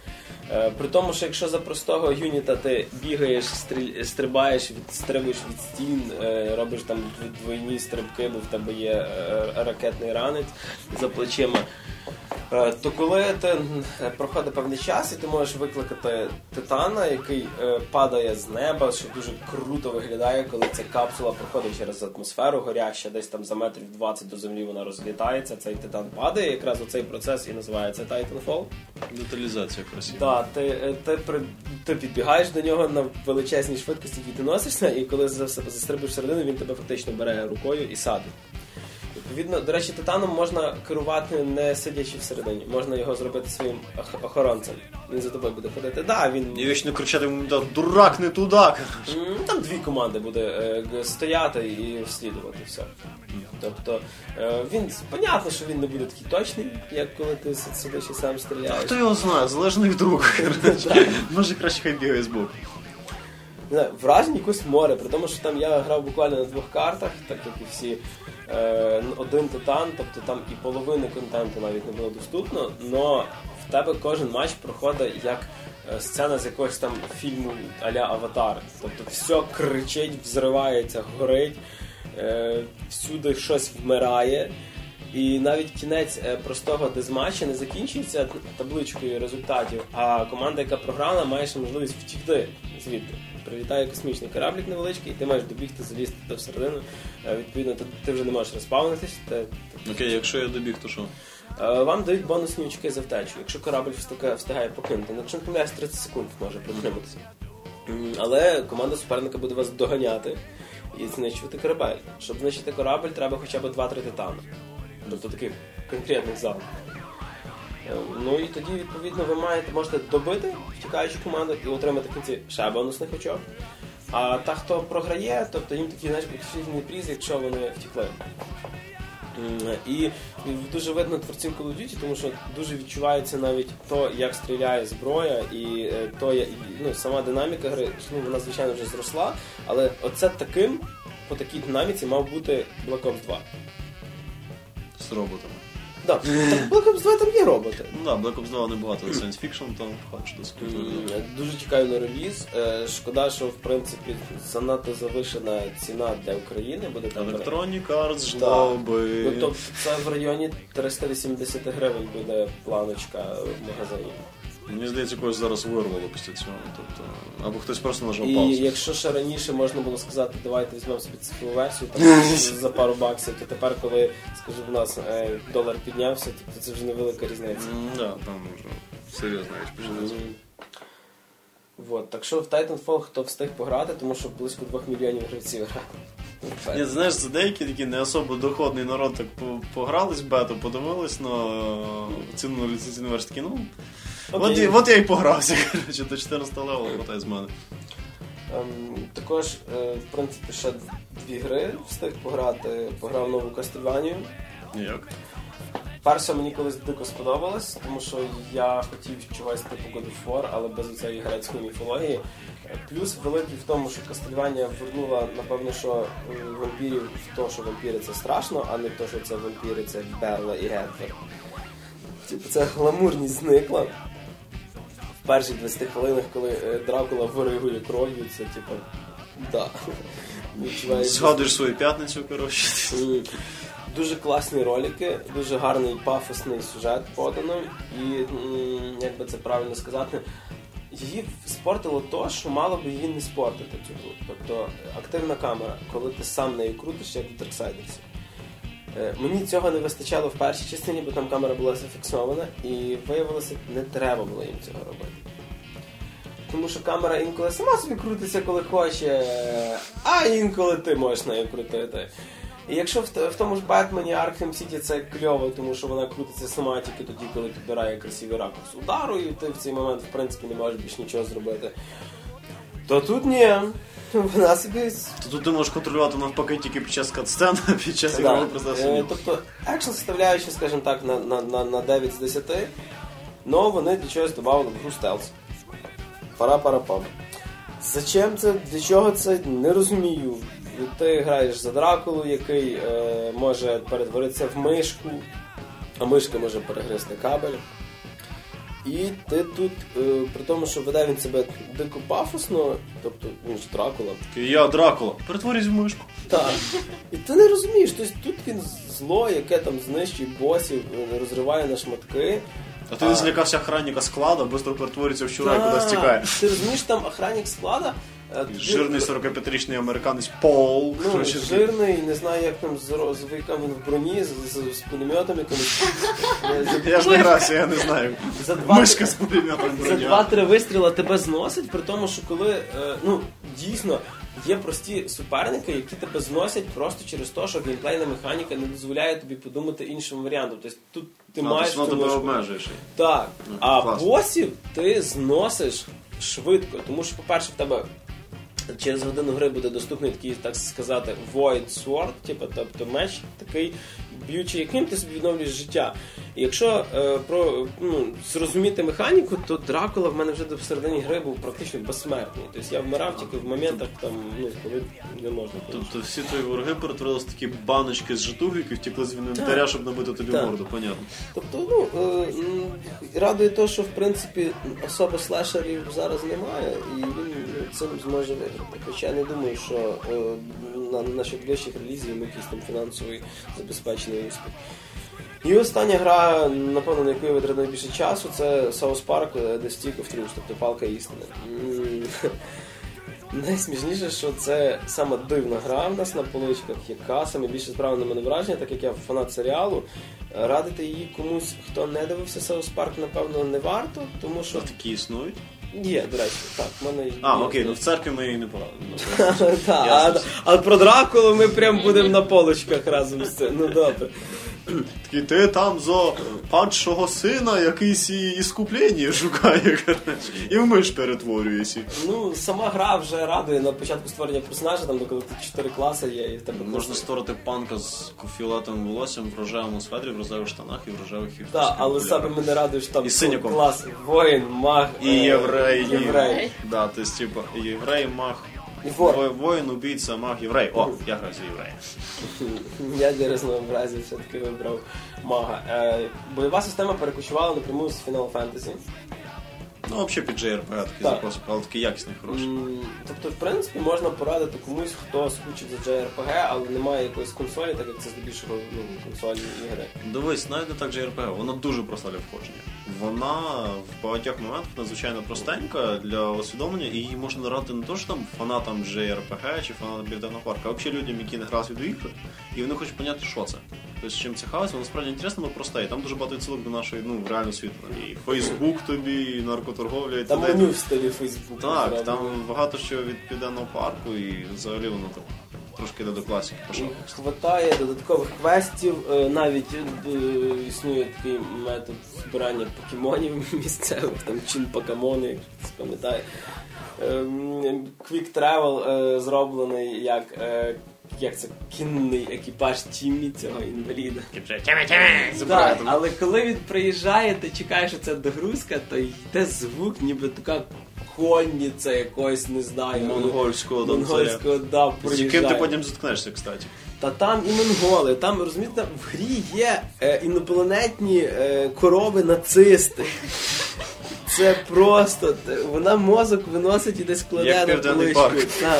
Е, при тому, що якщо за простого юніта ти бігаєш, стріль, стрибаєш, відстрибуєш від стін, е, робиш там двойні стрибки, бо в тебе є е, ракетний ранець за плечима, е, то коли ти проходить певний час і ти можеш викликати титана, який е, падає з неба, що дуже круто виглядає, коли ця капсула проходить через атмосферу горяща, десь там за метрів двадцять до землі вона розлітається, цей титан падає, якраз оцей процес і називається Titanfall.
Деталізація красива.
Да, ти, ти, ти, ти підбігаєш до нього на величезній швидкості, і ти носишся, і коли застрибуєш всередину, він тебе фактично бере рукою і садить. Відповідно, до речі, титаном можна керувати не сидячи всередині, можна його зробити своїм охоронцем. Він за тобою буде ходити. Да, він...
І вічно кричати йому, дурак, не туди!
Там дві команди буде е, стояти і вслідувати все. Тобто, е, він, понятно, що він не буде такий точний, як коли ти сидиш і сам стріляєш.
А хто його знає, залежно від рук. Може краще хай бігає з боку.
Не знаю, вражень якось море, при тому, що там я грав буквально на двох картах, так як і всі, е, один титан, тобто там і половини контенту навіть не було доступно, но в тебе кожен матч проходить як е, сцена з якогось там фільму а-ля Аватар. Тобто все кричить, взривається, горить, е, всюди щось вмирає. І навіть кінець е, простого дезматча не закінчується табличкою результатів, а команда, яка програла, має ще можливість втікти звідти. Прилітає космічний кораблик невеличкий, і ти маєш добігти, залізти туди всередину. Е, відповідно, ти, ти вже не можеш розпавнитись. Ти, ти...
Окей, якщо я добіг, то що?
Е, вам дають бонусні очки за втечу, якщо корабль встигає, встигає покинути. Якщо не помиляюсь, тридцять секунд може протриматися. Але команда суперника буде вас доганяти і знищувати корабель. Щоб знищити корабль, треба хоча б два-три титани. Тобто таких конкретних залів. Ну і тоді, відповідно, ви маєте, можете добити втікаючу команду і отримати в кінці ще бонусних очок. А та, хто програє, тобто їм такі, знаєш, професійний приз, якщо вони втікли. І дуже видно творців Call of Duty, тому що дуже відчувається навіть то, як стріляє зброя, і то, ну, сама динаміка гри, ну, вона, звичайно, вже зросла, але оце таким, по такій динаміці мав бути Black Ops два.
З роботами.
Так, в Black Ops два там є роботи.
Ну так, Black Ops два небагато science fiction, там хоч досить.
Дуже чекаю на реліз. Шкода, що в принципі занадто завишена ціна для України буде там.
Electronic Arts ждав би.
Ну, тобто це в районі триста вісімдесят гривень буде планочка в магазині.
Мені здається, когось зараз вирвало після цього. Тобто, або хтось просто нажав
і
паузу.
І якщо ще раніше можна було сказати, давайте візьмемо собі цифрову версію там, за пару баксів, то тепер, коли, скажу, в нас е, долар піднявся, то це вже невелика різниця.
Так, да, там вже серйозно річ почалася.
Вот, так що в Titanfall хто встиг пограти, тому що близько двох мільйонів гравців грати.
Ні, знаєш, це деякі такі не особо доходний народ так погрались в бету, подивились на ціну ліцензійну версію, такі, ну... От, от я і погрався, коротше, до чотирнадцятого левела хватає з мене.
Ем, також, е, в принципі, ще дві гри встиг пограти. Пограв нову Castlevania.
Як?
Перша мені колись дико сподобалась, тому що я хотів чогось типу God of War, але без цієї грецької міфології. Плюс великий в тому, що Castlevania вернула, напевно, що вампірів в те, що вампіри це страшно, а не в те, що це вампіри, це Берла і Гетфер. Типу, ця гламурність зникла. В перших двадцяти хвилинах, коли Дракула виригує кров'ю, це типу, да.
Згадуєш свою п'ятницю, коротше.
Дуже класні ролики, дуже гарний пафосний сюжет подано. І, як би це правильно сказати, її спортило то, що мало би її не спортити цю гру. Тобто активна камера, коли ти сам нею крутиш, як в Darksiders. Мені цього не вистачало в першій частині, бо там камера була зафіксована, і виявилося, не треба було їм цього робити. Тому що камера інколи сама собі крутиться, коли хоче, а інколи ти можеш нею крутити. І якщо в, в тому ж Бетмені Arkham City це кльово, тому що вона крутиться сама тільки тоді, коли підбирає красивий ракурс удару, і ти в цей момент, в принципі, не можеш більш нічого зробити, то тут ні. Вона собі...
То тут ти можеш контролювати навпаки тільки під час кат-сцен, під час ігрового процесу.
Е, тобто, екшн составляючи, скажімо так, на, на, на, на дев'ять з десяти, но вони для чогось додали в гру стелс. Пара-пара-пам. Зачем це, для чого це, не розумію. Ти граєш за Дракулу, який е, може перетворитися в мишку, а мишка може перегризти кабель. І ти тут, е, при тому, що веде він себе дико пафосно, тобто він ж Дракула.
Я Дракула, перетворюсь в мишку.
Так. І ти не розумієш, тобто тут він зло, яке там знищує босів, розриває на шматки.
А ти не злякався охранника складу, швидко перетворюється в щура і
Так.
кудись тікає.
Ти розумієш, там охранник склада. е,
Жирний сорокап'ятирічний американець Пол.
Ну,
коротше,
жирний, не знаю, як там з, з віком він в броні, з, з, з пулеметом якимось.
Я ж не грався, я не знаю.
За два,
Мишка з пулеметом
за
броня.
два-три вистріла тебе зносить, при тому, що коли, е, ну, дійсно, є прості суперники, які тебе зносять просто через те, що геймплейна механіка не дозволяє тобі подумати іншим варіантом. Тобто тут ти
А,
маєш...
тобто воно
цю
тебе
мишку.
обмежуєш.
Так,
Ну,
а
класно.
босів ти зносиш швидко, тому що, по-перше, в тебе через годину гри буде доступний такий, так сказати, Void Sword, типу, тобто меч такий б'ючий, яким ти собі відновлюєш життя. І якщо е, про, ну, зрозуміти механіку, то Дракула в мене вже до середині гри був практично безсмертний. Тобто я вмирав тільки в моментах, там, ну, коли не можна.
Тобто всі твої вороги перетворилися в такі баночки з житухи, які втекли з інвентаря, щоб набити тобі
Так.
морду, понятно.
Тобто, ну, е, м, радує те, що, в принципі, особо слешерів зараз немає, і він ну, цим зможе виграти. Хоча я не думаю, що е, на наших ближчих релізів йому якийсь там фінансовий забезпечений успіх. І остання гра, напевно, на яку я витратив найбільше часу, це South Park The Stick of Truth, тобто палка істини. М, Найсмішніше, що це саме дивна гра в нас на поличках, яка саме більше справила на мене враження, так як я фанат серіалу. Радити її комусь, хто не дивився South Park, напевно, не варто, тому що...
А такі існують?
Є, до речі, так, в мене...
А,
є.
окей, ну в церкві ми її не порадимо.
Так,
Ясно.
а, а про Дракулу ми прям будемо на полочках разом з цим. Ну добре.
Такий, ти там за падшого сина якийсь і іскуплення шукає, коротше, і в миш перетворюєшся.
Ну, сама гра вже радує на початку створення персонажа, там, коли тут чотири класи є, і в тебе...
Можна створити панка з фіолетовим волоссям в рожевому светрі, в рожевих штанах і в рожевих
Так,
хіферських
але
окулярах.
саме мене радує, що там
І синяком.
клас воїн, маг,
І
е,
єврей, і
єврей.
Да, то есть, типа, єврей, маг,
І вор.
во- воїн, убійця, маг, єврей. О, я граю за єврея.
Я для разнообразия все-таки вибрав мага. Е, бойова система перекочувала напряму з Final Fantasy.
Ну, взагалі під джей ар пі джі такий
Так.
запрос, але такий якісний, хороший.
М, Тобто, в принципі, можна порадити комусь, хто скучив за джей ар пі ге, але немає якоїсь консолі, так як це здебільшого ну, консольні ігри.
Дивись, навіть не так джей ар пі джі, вона дуже проста для входження. Вона в багатьох моментах надзвичайно простенька для усвідомлення, і її можна грати не то, що там фанатам джей ар пі джі чи фанатам Південного парку, а взагалі людям, які не грали в відеоігри, і вони хочуть поняти, що це. Тобто, чим це хаос, воно справді інтересно, але просте. І там дуже багато відсилок до нашої, ну, реального світу. І Фейсбук тобі, і наркоторговля, і
Там
т.д.
меню в стилі Фейсбуку.
Так, там багато що від Південного парку, і взагалі воно так трошки йде до класики пішов.
Хватає додаткових квестів, е, навіть е, існує такий метод збирання покемонів місцевих, там чин покемони, якщо хтось пам'ятає. Ем, Quick Travel е, зроблений як, е, як це, кінний екіпаж Тіммі, цього інваліда. Так, але коли він приїжджає, ти чекаєш, що це догрузка, то йде звук, ніби така конниця якось, не знаю.
Монгольського донцаря.
Монгольського, да,
З яким ти
приїжджає.
потім зіткнешся, кстати.
Та там і монголи, там, розумієте, в грі є е, інопланетні е, корови-нацисти. Це просто, те- вона мозок виносить і десь кладе
Як
на
Південний
поличку.
парк.
Так.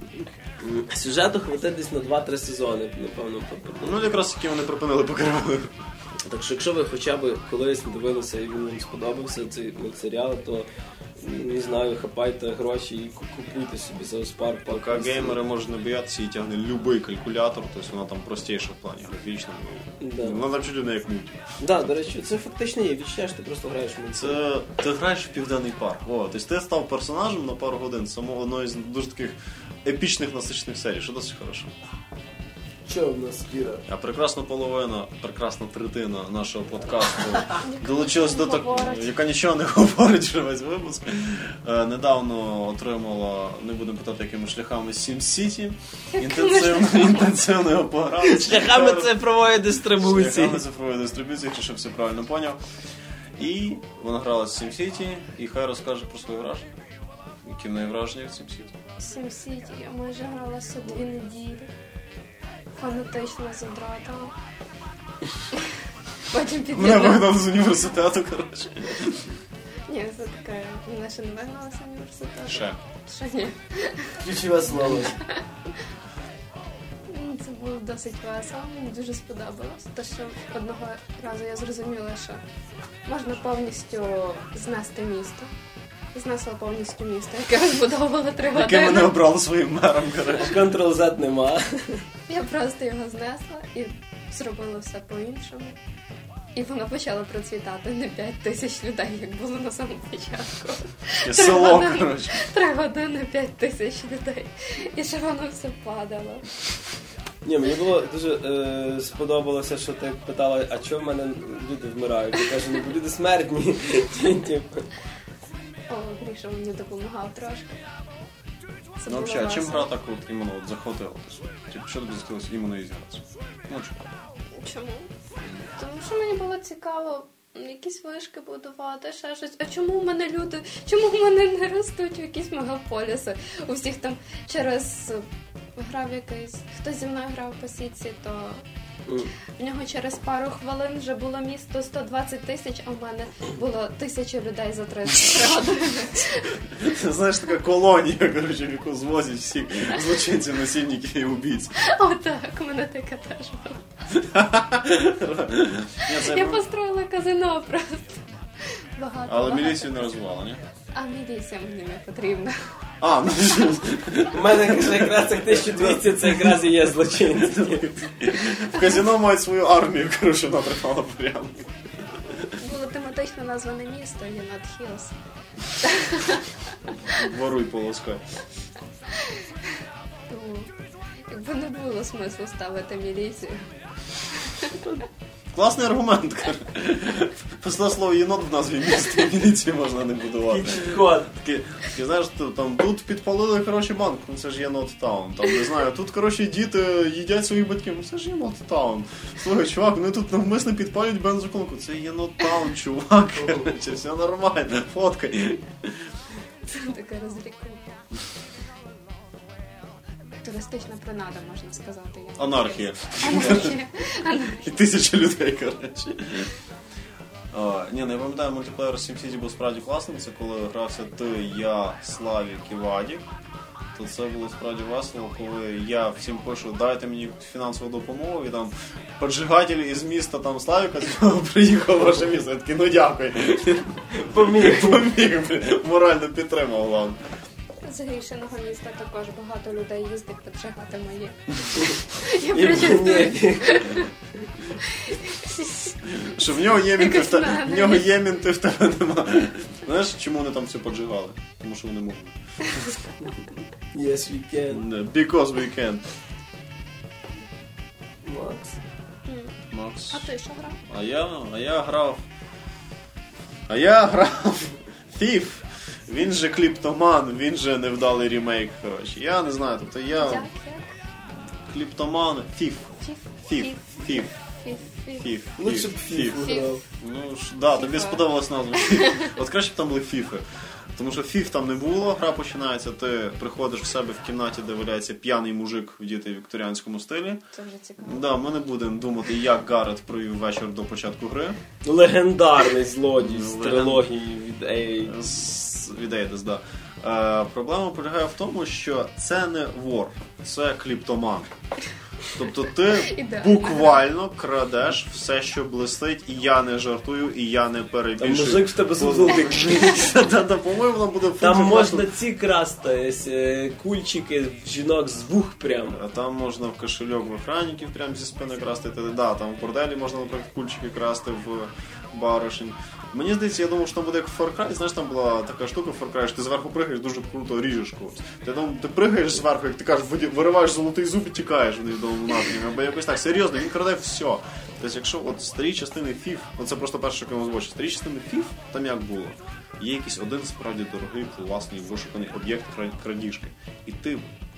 Сюжету хватить десь на два-три сезони, напевно.
Ну, якраз таки вони припинили покривали.
Так що, якщо ви хоча б колись дивилися і він вам сподобався цей мультсеріал, то, не знаю, хапайте гроші і ку- купуйте собі за Парк.
Поки геймери можуть не боятися, і тягне будь-який калькулятор, тобто вона там простіша в плані графічно.
Да.
Вона там чуть не як мультик.
Да, до речі, це фактично є відчуття, що ти просто граєш в мультсеріал.
Це ти граєш в Південний парк. О, тобто ти став персонажем на пару годин самого одної з дуже таких епічних насичених серій, що досить хорошо.
Що в нас, Кіра?
А прекрасна половина, прекрасна третина нашого подкасту долучилась до такого, яка нічого не говорить вже весь випуск. Е, недавно отримала, не будемо питати якими шляхами, SimCity. Інтенсивно, інтенсивно його пограли.
Шляхами цифрової дистрибуції.
Шляхами цифрової дистрибуції, якщо все правильно поняв. І вона грала з SimCity, і хай розкаже про свої враження. Які в неї враження від SimCity?
SimCity я майже гралася дві неділі. Фанатично задратила. Потім
Мене
під'єднала.
вигнали з університету, коротше.
Ні, це таке, мене ще не вигнали з університету.
Ще.
Ще ні.
Ключове слово.
Це було досить весело, мені дуже сподобалось. Те, що одного разу я зрозуміла, що можна повністю знести місто. Знесла повністю місто, яке розбудовувала три години.
Яке мене обрало своїм мером, коротше.
Контрол-Z нема.
Я просто його знесла і зробила все по-іншому. І воно почало процвітати не п'ять тисяч людей, як було на самому початку.
І село, коротше.
Три години, п'ять тисяч людей. І ще воно все падало.
Ні, мені було дуже е, сподобалося, що ти питала, а чого в мене люди вмирають? Я кажу, ну бо люди смертні.
О, Гріша мені допомагав трошки. Це
Ну,
було
взагалі, а чим
весело.
гра так от іменно от захватила? Типу, що тобі захотілося іменно її зіграти? Ну, чому?
Чому? Тому що мені було цікаво якісь вишки будувати, ще щось. А чому в мене люди, чому в мене не ростуть якісь мегаполіси? У всіх там через грав якийсь, хто зі мною грав по сітці, то в нього через пару хвилин вже було місто сто двадцять тисяч, а в мене було тисяча людей за тридцять години.
Знаєш, така колонія, коротше, в яку звозять всіх злочинців, насильників і убійць.
О, так, у мене таке теж було.
Ні, це
Я
я...
построїла казино просто. Багато,
Але
багато.
міліцію не розвивала, ні?
А міліція мені не потрібна.
А, ну
У мене каже, якраз цих тисяча двісті це якраз і є злочинці.
в казино мають свою армію, коротше, вона тримала порядок.
Було тематично назване місто Єнот Хілс.
Воруй полоскай.
Тому, якби не було смислу ставити міліцію.
Класний аргумент, коротше. Після слова єнот в назві міста, міліції можна не будувати.
Код.
Такі, ти знаєш, там, тут підпалили, коротше, банк, ну це ж єнот таун. Там, не знаю, тут, коротше, діти їдять своїх батьків, ну це ж єнот таун. Слухай, чувак, вони тут навмисно підпалюють бензоколонку. Це єнот таун, чувак, коротше, все нормально, фоткай.
Це таке розлікування. Туристична принада, можна сказати. Я.
Анархія.
Анархія.
І тисяча людей, коротше. А, ні, ну я пам'ятаю, мультиплеєр SimCity був справді класним. Це коли грався ти, я, Славік і Вадік. То це було справді весело, коли я всім пишу, дайте мені фінансову допомогу, і там поджигатель із міста там Славіка приїхав в ваше місто. Я такий, ну дякую.
Поміг.
Поміг, морально підтримав вам.
З Грішиного міста також багато людей їздить поджигати мої. Я
І
причастую.
Що в нього є мінти, в, те-
Якось
в нього є мінти, в тебе нема. Знаєш, чому вони там все поджигали? Тому що вони можуть.
Yes, we can.
Because we can.
Макс.
Макс.
А ти що грав?
А я, а я грав. А я грав Thief. Він же кліптоман, він же невдалий ремейк, коротше. Я не знаю, тобто я
Як? Як?
кліптоман, Thief.
Фіф?
Thief. Thief.
Фіф. Фіф.
Thief.
Лучше б
Thief.
фіфу грав.
Ну ж, да, тобі сподобалась назва. От краще б там були фіфи. Тому що фіф там не було, гра починається, ти приходиш в себе в кімнаті, де валяється п'яний мужик в діти в вікторіанському стилі.
Це вже цікаво.
Да, ми не будемо думати, як Гаррет провів вечір до початку гри.
Легендарний злодій з
Леген-
трилогії від Ей.
З від Eidos, да. Е, проблема полягає в тому, що це не вор, це кліптоман. Тобто ти
Ідеально.
буквально крадеш все, що блистить, і я не жартую, і я не
Там
перебільшую.
мужик в тебе зубик.
Та-та, по-моєму, воно буде
Там
функція
можна
просто-
ці красти, е, кульчики жінок з вух прямо.
А там можна в кошельок в охранників прямо зі спини красти. Та- Да, там в борделі можна, наприклад, кульчики красти в баришень. Мені здається, я думав, що там буде як в Far Cry. Знаєш, там була така штука в Far Cry, що ти зверху пригаєш, дуже круто ріжеш когось. Ти, там, ти пригаєш зверху, як ти кажеш, виді- вириваєш золотий зуб і тікаєш в невідомому напрямі. Або якось так, серйозно, він краде все. Тобто, якщо от старі частини фіф, ну це просто перше, що я озвучив, старі частини фіф, там як було? Є якийсь один справді дорогий, класний, вишуканий об'єкт кра- крадіжки. І ти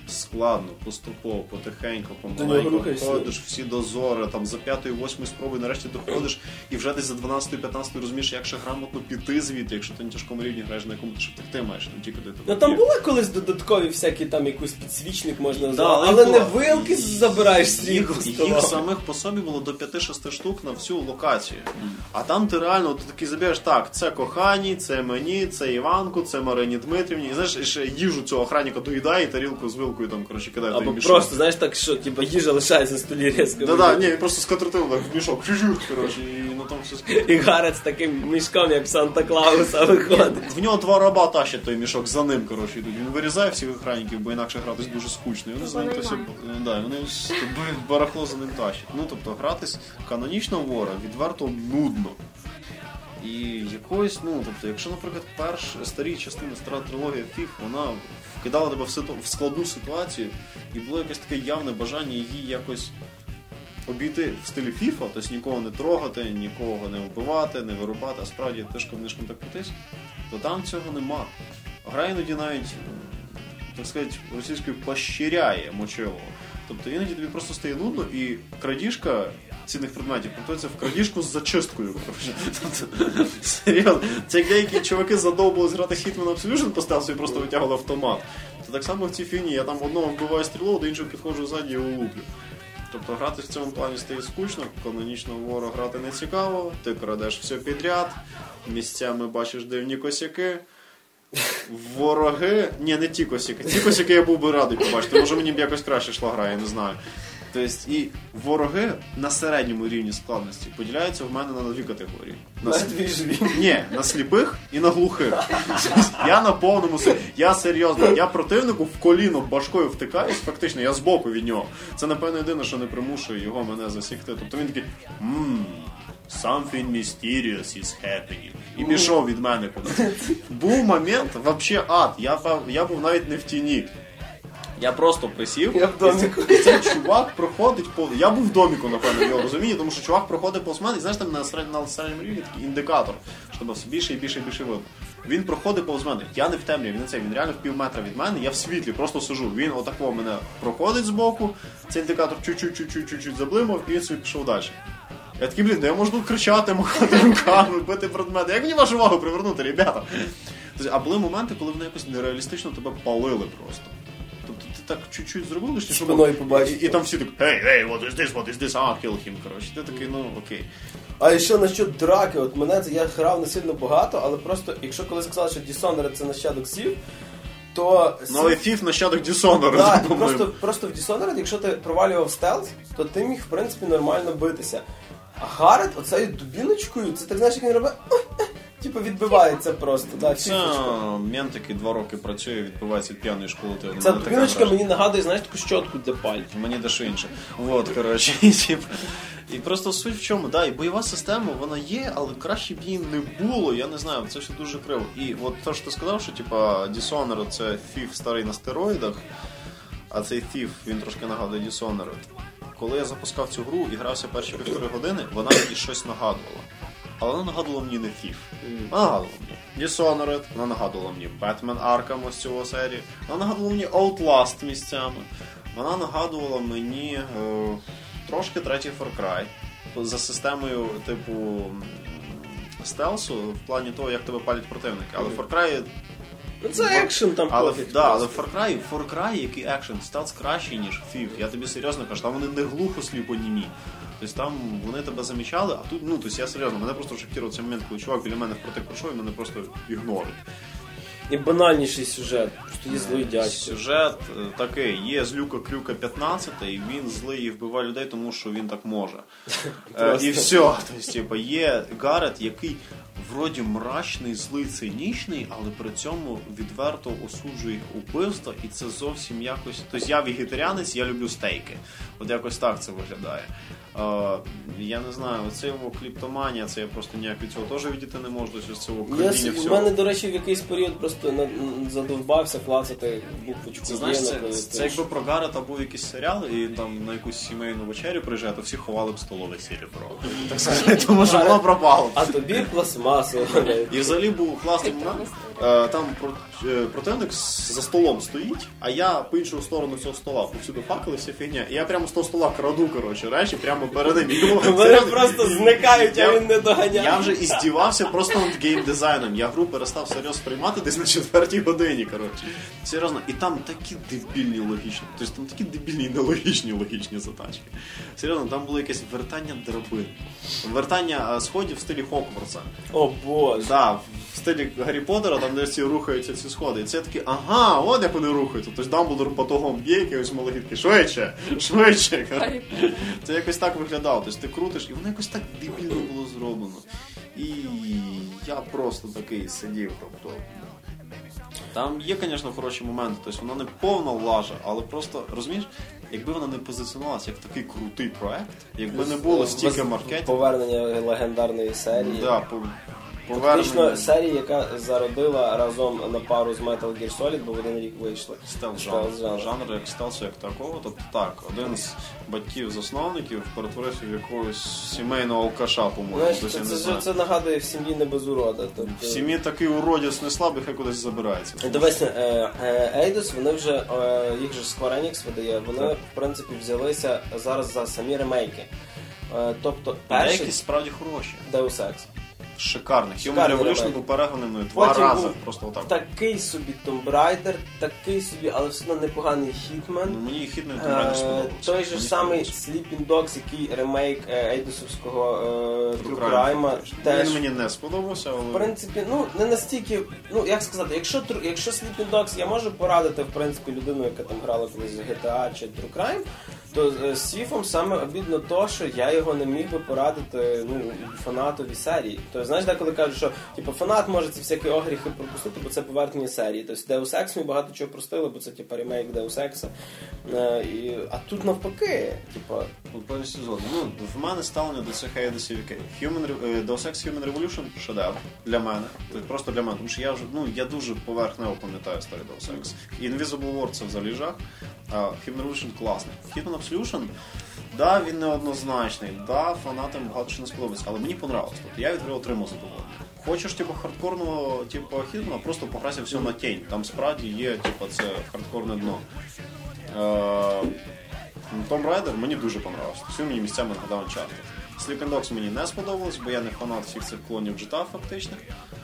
складно, поступово, потихеньку,
нього
помаленьку
рухаєшся.
ходиш, всі дозори, там за п'ятої-восьмої спроби нарешті доходиш, і вже десь за дванадцятої-п'ятнадцятої розумієш, як ще грамотно піти звідти, якщо ти на тяжкому рівні граєш, на якому ти ще втекти маєш, не тільки де ти.
Ну там були колись додаткові всякі там якийсь підсвічник можна
Да,
назвати,
але
але не
було.
вилки забираєш з
Їх,
їх
їх самих по собі було до п'яти-шести штук на всю локацію. А там ти реально, ти такий забігаєш, так, це коханій, це мені, це Іванку, це Марині Дмитрівні. І знаєш, і ще їжу цього охранника доїдає, і тарілку з вилкою там, коротше, кидає в той
Або
мішок.
просто, знаєш, так, що типа їжа лишається на столі різко.
Да-да, ні, він просто скатертив так в мішок, чужуть, коротше, і на тому все скидає.
І Гарет з таким мішком, як в Санта-Клауса, виходить.
В нього два раба тащать той мішок за ним, коротше, йдуть. Він вирізає всіх охранників, бо інакше гратись дуже скучно. І вони за ним то всі, да, вони барахло за ним тащать. Ну, тобто, гратись канонічно в вора відверто нудно. І якось, ну, тобто, якщо, наприклад, перш старі частини, стара трилогія фіф, вона вкидала тебе в, ситу... в складну ситуацію, і було якесь таке явне бажання її якось обійти в стилі фіфа, тобто нікого не трогати, нікого не вбивати, не вирубати, а справді тишком-нишком так крутись, то там цього нема. Гра іноді навіть, так сказати, російською пощиряє мочилово. Тобто іноді тобі просто стає нудно, і крадіжка цінних предметів повторюється в крадіжку з зачисткою. Тобто, серйозно. Це як деякі чуваки задовбали зграти Hitman Absolution по стелсу і просто витягували автомат. То так само в цій фігні я там одного вбиваю стрілу, до іншого підходжу ззаді і його луплю. Тобто грати в цьому плані стає скучно, канонічного вора грати не цікаво, ти крадеш все підряд, місцями бачиш дивні косяки. Вороги... Ні, не ті косяки. Ті косяки я був би радий побачити. Може мені б якось краще йшла гра, я не знаю. Тобто, і вороги на середньому рівні складності поділяються в мене на дві категорії. На
Мертві живі.
Ні, на сліпих і на глухих. Я на повному серйозі. Я серйозно, я противнику в коліно башкою втикаюсь, фактично, я збоку від нього. Це, напевно, єдине, що не примушує його мене засікти. Тобто він такий, ммм, something mysterious is happening. І пішов від мене кудись. Був момент, взагалі ад. Я, я був навіть не в тіні. Я просто присів,
я в доміку.
І цей чувак проходить по... Я був в доміку, напевно, в його розумінні, тому що чувак проходить повз мене, і знаєш, там на середньому, на середньому рівні такий індикатор, щоб все більше і більше і більше видно. Він проходить повз мене, я не в темряві, він не цей, він реально в пів метра від мене, я в світлі, просто сижу. Він отако мене проходить збоку, цей індикатор чуть-чуть-чуть-чуть заблимав, і він собі пішов далі. Я такий, блін, де я можу тут кричати, махати руками, бити предмети. Як мені вашу увагу привернути, ребята? А були моменти, коли вони якось нереалістично тебе палили просто. Тобто ти так чуть-чуть зробив, лише, щоб...
Спиною побачити.
І, і там всі так, hey, hey, what is this, what is this, ah, kill him, коротше. Ти такий, ну, окей.
А і що насчет драки, от мене це, я грав не сильно багато, але просто, якщо коли сказали, що Dishonored це нащадок Сів, то...
Ну, але Фіф нащадок Dishonored.
Так, да, просто, просто в Dishonored, якщо ти провалював стелс, то ти міг, в принципі, нормально битися. А Гарет оцею дубіночкою, це так, знаєш, як він робить... Типу відбивається просто, да,
це мент, який два роки працює, відбивається від п'яної школи.
Ця дубіночка мені нагадує, знаєш, таку щотку для пальців.
Мені дещо інше. Вот, коротше. І, і просто суть в чому, да, і бойова система, вона є, але краще б її не було, я не знаю, це все дуже криво. І от те, що ти сказав, що типа Dishonored це Thief старий на стероїдах, а цей Thief, він трошки нагадує Dishonored. Коли я запускав цю гру і грався перші півтори години, вона мені щось нагадувала. Але вона нагадувала мені не Thief. Вона нагадувала мені Dishonored, вона нагадувала мені Batman Arkham ось цього серії, вона нагадувала мені Outlast місцями, вона нагадувала мені е, трошки третій Far Cry за системою типу стелсу в плані того, як тебе палять противники. Але Far Cry...
Ну це екшен там
але,
пофіг.
Да, але Far Cry, Far Cry, який екшен, стелс кращий, ніж Thief. Я тобі серйозно кажу, там вони не глухо сліпонімі. Тобто там вони тебе замічали, а тут, ну, тобто я серйозно, мене просто шокував цей момент, коли чувак біля мене впротик пройшов і мене просто ігнорить.
І банальніший сюжет, просто є злий дядько.
Сюжет такий, є злюка Крюка п'ятнадцять, і він злий і вбиває людей, тому що він так може. І все. Тобто, типу, є Гарет, який вроді мрачний, злий, цинічний, але при цьому відверто осуджує убивства, і це зовсім якось... Тобто я вегетаріанець, я люблю стейки. От якось так це виглядає. Uh, я не знаю, оце його кліптоманія, це я просто ніяк від цього теж відійти не можу, з цього крадіння всього.
У мене, до речі, в якийсь період просто на, задовбався клацати буквочку.
Це, знаєш, це, це, це якби про Гарета був якийсь серіал, і там на якусь сімейну вечерю приїжджає, то всі ховали б столове серебро. Так сказати, тому що воно пропало.
А тобі пластмас класу.
І взагалі був класний момент. Е, Там про- е, противник з- за столом стоїть, а я по іншу сторону цього стола. Повсюди факели, вся фігня. І я прямо з того стола краду, коротше, речі, прямо перед ним. І йому-
Вони просто зникають, а
Я-
він не доганяє.
Я вже іздівався просто над геймдизайном. Я гру перестав серйозно сприймати десь на четвертій годині, коротше. Серйозно. І там такі дебільні логічні. Тобто там такі дебільні і нелогічні логічні затачки. Серйозно, там було якесь вертання драбин. Вертання е, сходів в стилі Хогвартса.
О боже.
Да, в стилі Гаррі Поттера, там де всі рухаються ці сходи. І це такі, ага, от як вони рухаються. Тобто Дамблдор потогом б'є, якийсь малогідки, швидше, швидше.
Гаррі
Це якось так виглядало. Тобто ти крутиш, і воно якось так дебільно було зроблено. І я просто такий сидів, тобто. Там є, звісно, хороші моменти, тобто вона не повна лажа, але просто, розумієш, якби вона не позиціонувалася як такий крутий проект, якби не було стільки маркетингу.
Повернення легендарної серії.
Да, по,
Фактично
повернення.
серія, яка зародила разом на пару з Metal Gear Solid, бо в один рік вийшли.
Стелс
Стелс
жанр.
жанр.
Жанр як стелсу як такого. Тобто так, один з батьків-засновників перетворився в якогось сімейного алкаша, по-моєму.
Знаєш,
десь
це,
я не
це,
знаю.
це нагадує в сім'ї не без урода. Тобто...
В сім'ї такий уродець не слабий, хай кудись забирається.
Дивись, е, е, Eidos, вони вже, е, їх же Square Enix видає, вони,
Так.
в принципі, взялися зараз за самі ремейки. Е, тобто, перший
Деякі справді хороші.
Deus Ex.
Шикарний. Human
Шикарний
Revolution
ремейк.
був перегнаний мною два
Потім
рази.
був
Просто отак.
Такий собі Tomb Raider, такий собі, але все одно непоганий Hitman.
Ну, мені хідний Tomb Raider
Е,
сподобався.
той же
Мені
самий
сподобався.
Sleeping Dogs, який ремейк е, Ейдосовського е, True
Crime,
Crime,
фактично.
теж
Він мені не сподобався, але...
в принципі, ну не настільки, ну як сказати, якщо True- якщо Sleeping Dogs я можу порадити в принципі людину, яка там грала колись в джі ті ей чи True Crime, то е, з Сіфом саме обідно то, що я його не міг би порадити ну фанатові серії. Тобто, знаєш, деколи кажуть, що типу фанат може ці всякі огріхи пропустити, бо це поверхні серії. Тобто Deus Ex ми багато чого простили, бо це типу ремейк Deus Ex. Е, і, а тут навпаки, типу.
Ну, повністю згоден. Ну, в мене ставлення до цих Ейдосів яке. Human, Re- е, Deus Ex Human Revolution – шедевр для мене. Тобто просто для мене. Тому що я вже, ну, я дуже поверхнево пам'ятаю старий Deus Ex. Invisible War – це взагалі жах. А Human Revolution – класний. Hitman Absolution, да, він неоднозначний, да, фанатам багато що не сподобається, але мені понравилось. Тобто я від гри отримав задоволення. Хочеш, типу, хардкорного, типу, Hitman, просто пограйся все на тінь. Там справді є, типу, це хардкорне дно. Е- Tomb Raider мені дуже понравився. Всі мені місцями нагадав Uncharted. Sleeping Dogs мені не сподобалось, бо я не фанат всіх цих клонів джі ті ей фактичних.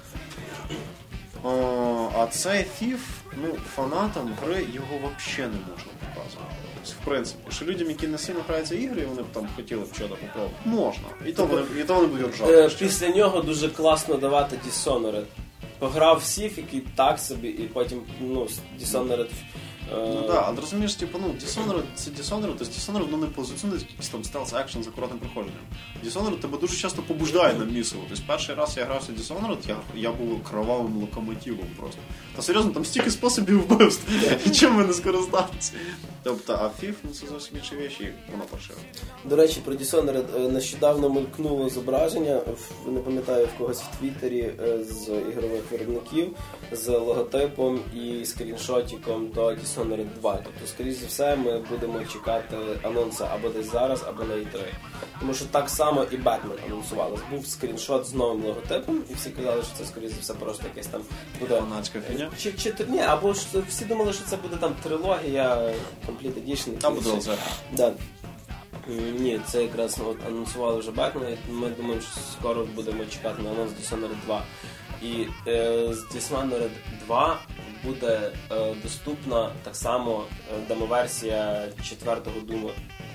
О, а цей Thief, ну, фанатам гри його взагалі не можна показувати. Тобто, в принципі, що людям, які не сильно граються ігри, і вони б там хотіли б чого попробувати, можна. І то вони, і то вони будуть
Е,
ржати.
після нього дуже класно давати Dishonored. Пограв в Сіф, який так собі, і потім ну, Dishonored.
Ну так, да, але розумієш, типу, ну, Dishonored, це Dishonored, тобто Dishonored, ну, не позиціонує якийсь там стелс-екшен за коротним проходженням. Dishonored тебе дуже часто побуждає на місиво. Тобто перший раз я грався в Dishonored, я, я був кровавим локомотивом просто. Та серйозно, там стільки способів вбивств, і чим ми не скористатися. Тобто, а фіф, ну, це зовсім інші речі, і воно паршиво.
До речі, про Dishonored е, нещодавно мелькнуло зображення, в- не пам'ятаю в когось в Твіттері е, з ігрових виробників, з логотипом і скріншотиком до Dishonored два. Тобто, скоріш за все, ми будемо чекати анонсу або десь зараз, або на і три. Тому що так само і Batman анонсувалось. Був скріншот з новим логотипом, і всі казали, що це, скоріш за все, просто якесь там буде...
Фанатська фігня.
Чи, чи, ні, або ж всі думали, що це буде там трилогія, Complete Edition.
Там буде Лазер.
Да. М, Ні, це якраз от, анонсували вже Бетмен, і ми думаємо, що скоро будемо чекати на анонс Dishonored два. І е, з Dishonored два буде е, доступна так само е, демоверсія четвертого Дума.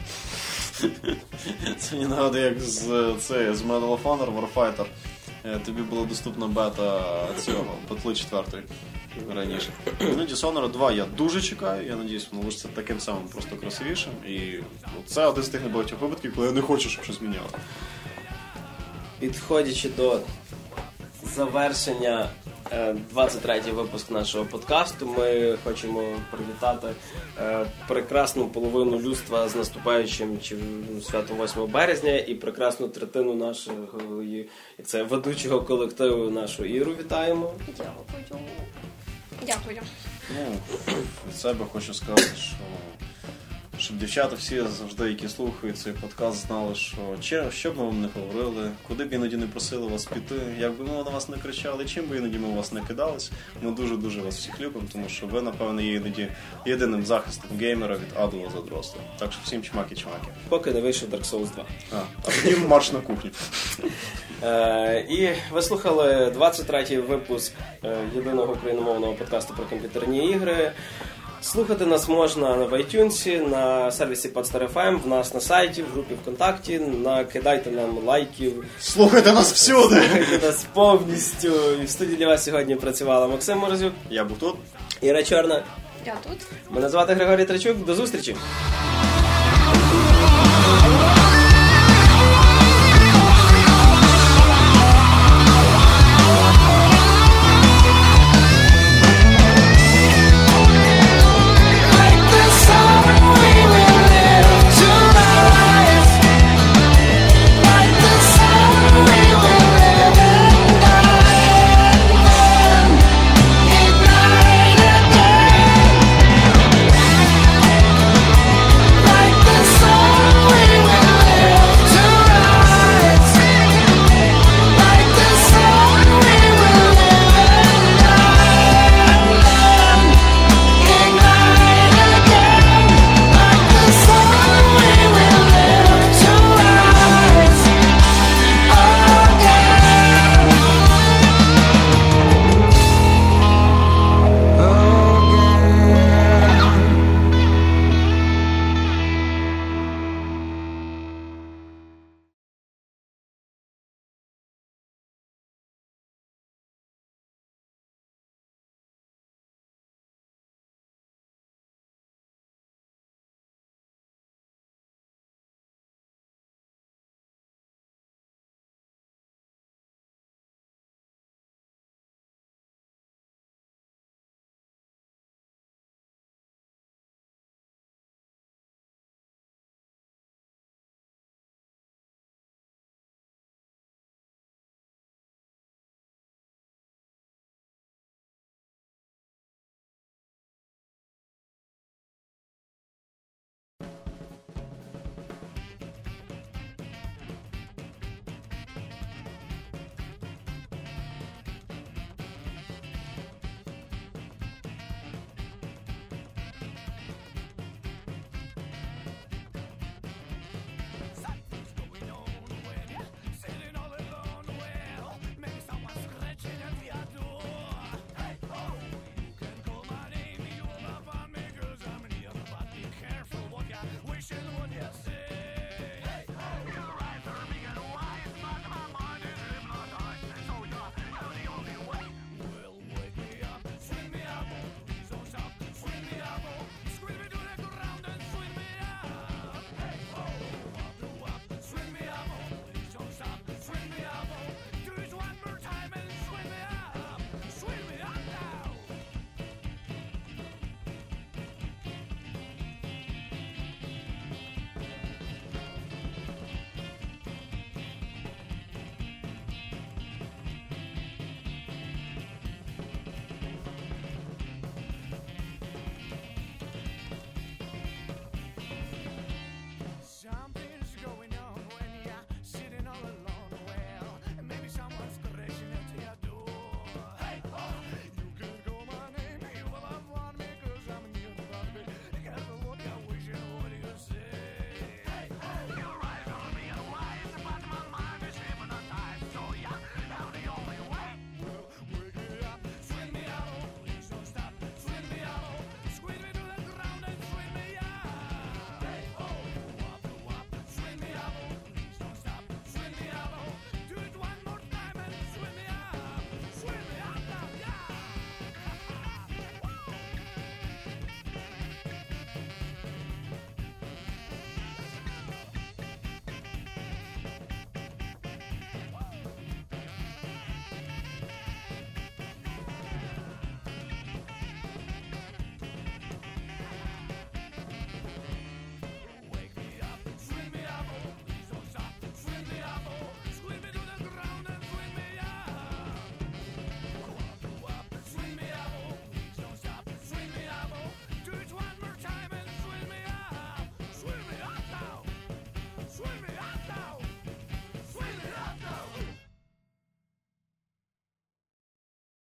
Це мені нагадує, як з, це, з Medal of Honor Warfighter. Е, Тобі була доступна бета цього, Петли четвертої раніше. Ну, Dishonored два я дуже чекаю, я надіюсь, воно лишиться таким самим, просто красивішим. І ну, це один з тих небагатьох випадків, коли я не хочу, щоб щось міняло.
Підходячи до завершення е, двадцять третій випуск нашого подкасту, ми хочемо привітати е, прекрасну половину людства з наступаючим чи, ну, святом восьмого березня і прекрасну третину нашого і- як це, ведучого колективу нашу Іру вітаємо.
Дякую.
Ну, від себе хочу сказати, що щоб дівчата всі завжди, які слухають цей подкаст, знали, що чи, що б ми вам не говорили, куди б іноді не просили вас піти, як би ми на вас не кричали, чим би іноді ми у вас не кидались. Ми дуже-дуже вас всіх любимо, тому що ви, напевно, є іноді єдиним захистом геймера від адового задросту. Так що всім чмаки-чмаки.
Поки не вийшов Dark Souls два.
А, а потім марш на кухню.
Е, і ви слухали двадцять третій випуск е, єдиного україномовного подкасту про комп'ютерні ігри. Слухати нас можна в iTunes, на сервісі Podster еф ем, в нас на сайті, в групі ВКонтакті, накидайте нам лайків.
Слухайте нас всюди!
Слухайте нас повністю. І в студії для вас сьогодні працювала Максим Морозюк.
Я був тут.
Іра Чорна.
Я тут.
Мене звати Григорій Трачук. До зустрічі!